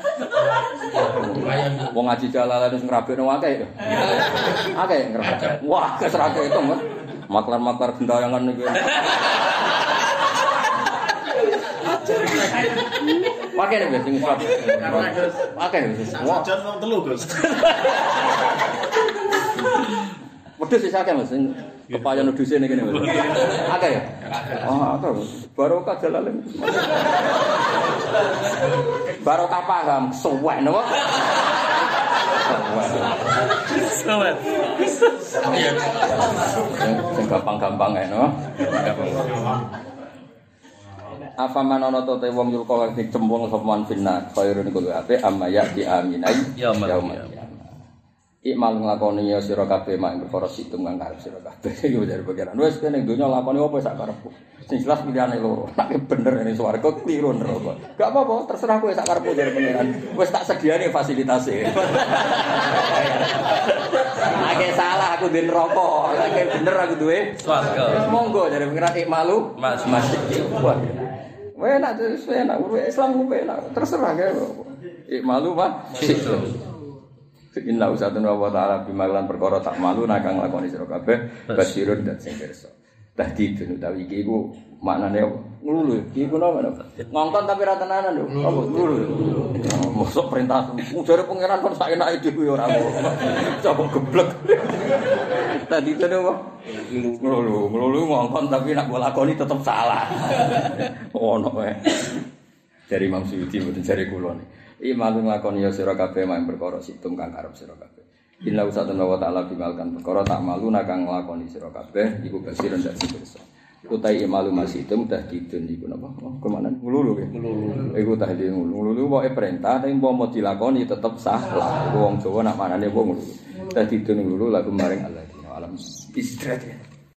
Wong ngaji jalalan wis ngrabekno akeh. Akeh ngrabek. Wah, kesrake itu, Mas. Maklar-maklar gendayangan niku. Pakai nih biasa ngusap. Pakai wis. Wah, jan wong telu, Gus. Wedhus wis akeh, Mas. Kepayon wedhuse ning kene, Mas. Akeh ya? Oh, akeh. Barokah jalalan. Barokah paham, suwek napa? Suwek. Sing gampang-gampang ae, no. Apa manono to te wong yul kok dicembung sapa man finna khairun kulo ape amma ya di aminai ya yaumil ikmal nglakoni ya sira kabeh mak perkara situng kang karep sira kabeh yo dari pikiran wis kene donya lakoni apa sak karepku sing jelas pilihane loro nek bener ning swarga kliru neraka gak apa-apa terserah kowe sak karepmu dari pangeran wis tak sediane fasilitase nek salah aku duwe neraka nek bener aku duwe swarga wis monggo dari pangeran ikmalu mas mas weh nak terus weh nak Islam weh nak terserah ya ikmalu mah Inna usatun wa ta'ala bimaklan perkara tak malu nakang lakoni sira kabeh basirun dan sing pirsa. Dadi dene utawi iki iku maknane ngulu iki ku napa ngongkon tapi ra tenanan lho. Apa ngulu. Mosok perintah ujare pangeran kon sak enake dhewe ora apa. Coba geblek. Dadi dene apa ngulu ngulu ngongkon tapi nak lakoni tetep salah. Ono wae. Dari Imam Suyuti mboten jare kula niki. Imalu nglakoni ya sira kabeh mak perkara situng kang karep sira kabeh. Inna usatun wa ta'ala bimalkan perkara tak malu nakang nglakoni sira kabeh iku basiran dak pirsa. Utai imalu masitum dah didun iku napa? Kemana? Ngululu ke? Ngululu. Iku tah di ngululu. Ngululu wae perintah tapi mau dilakoni tetep salah. Wong Jawa nak manane wong ngululu. Dah didun ngululu lagu maring Allah. Alam istirahat.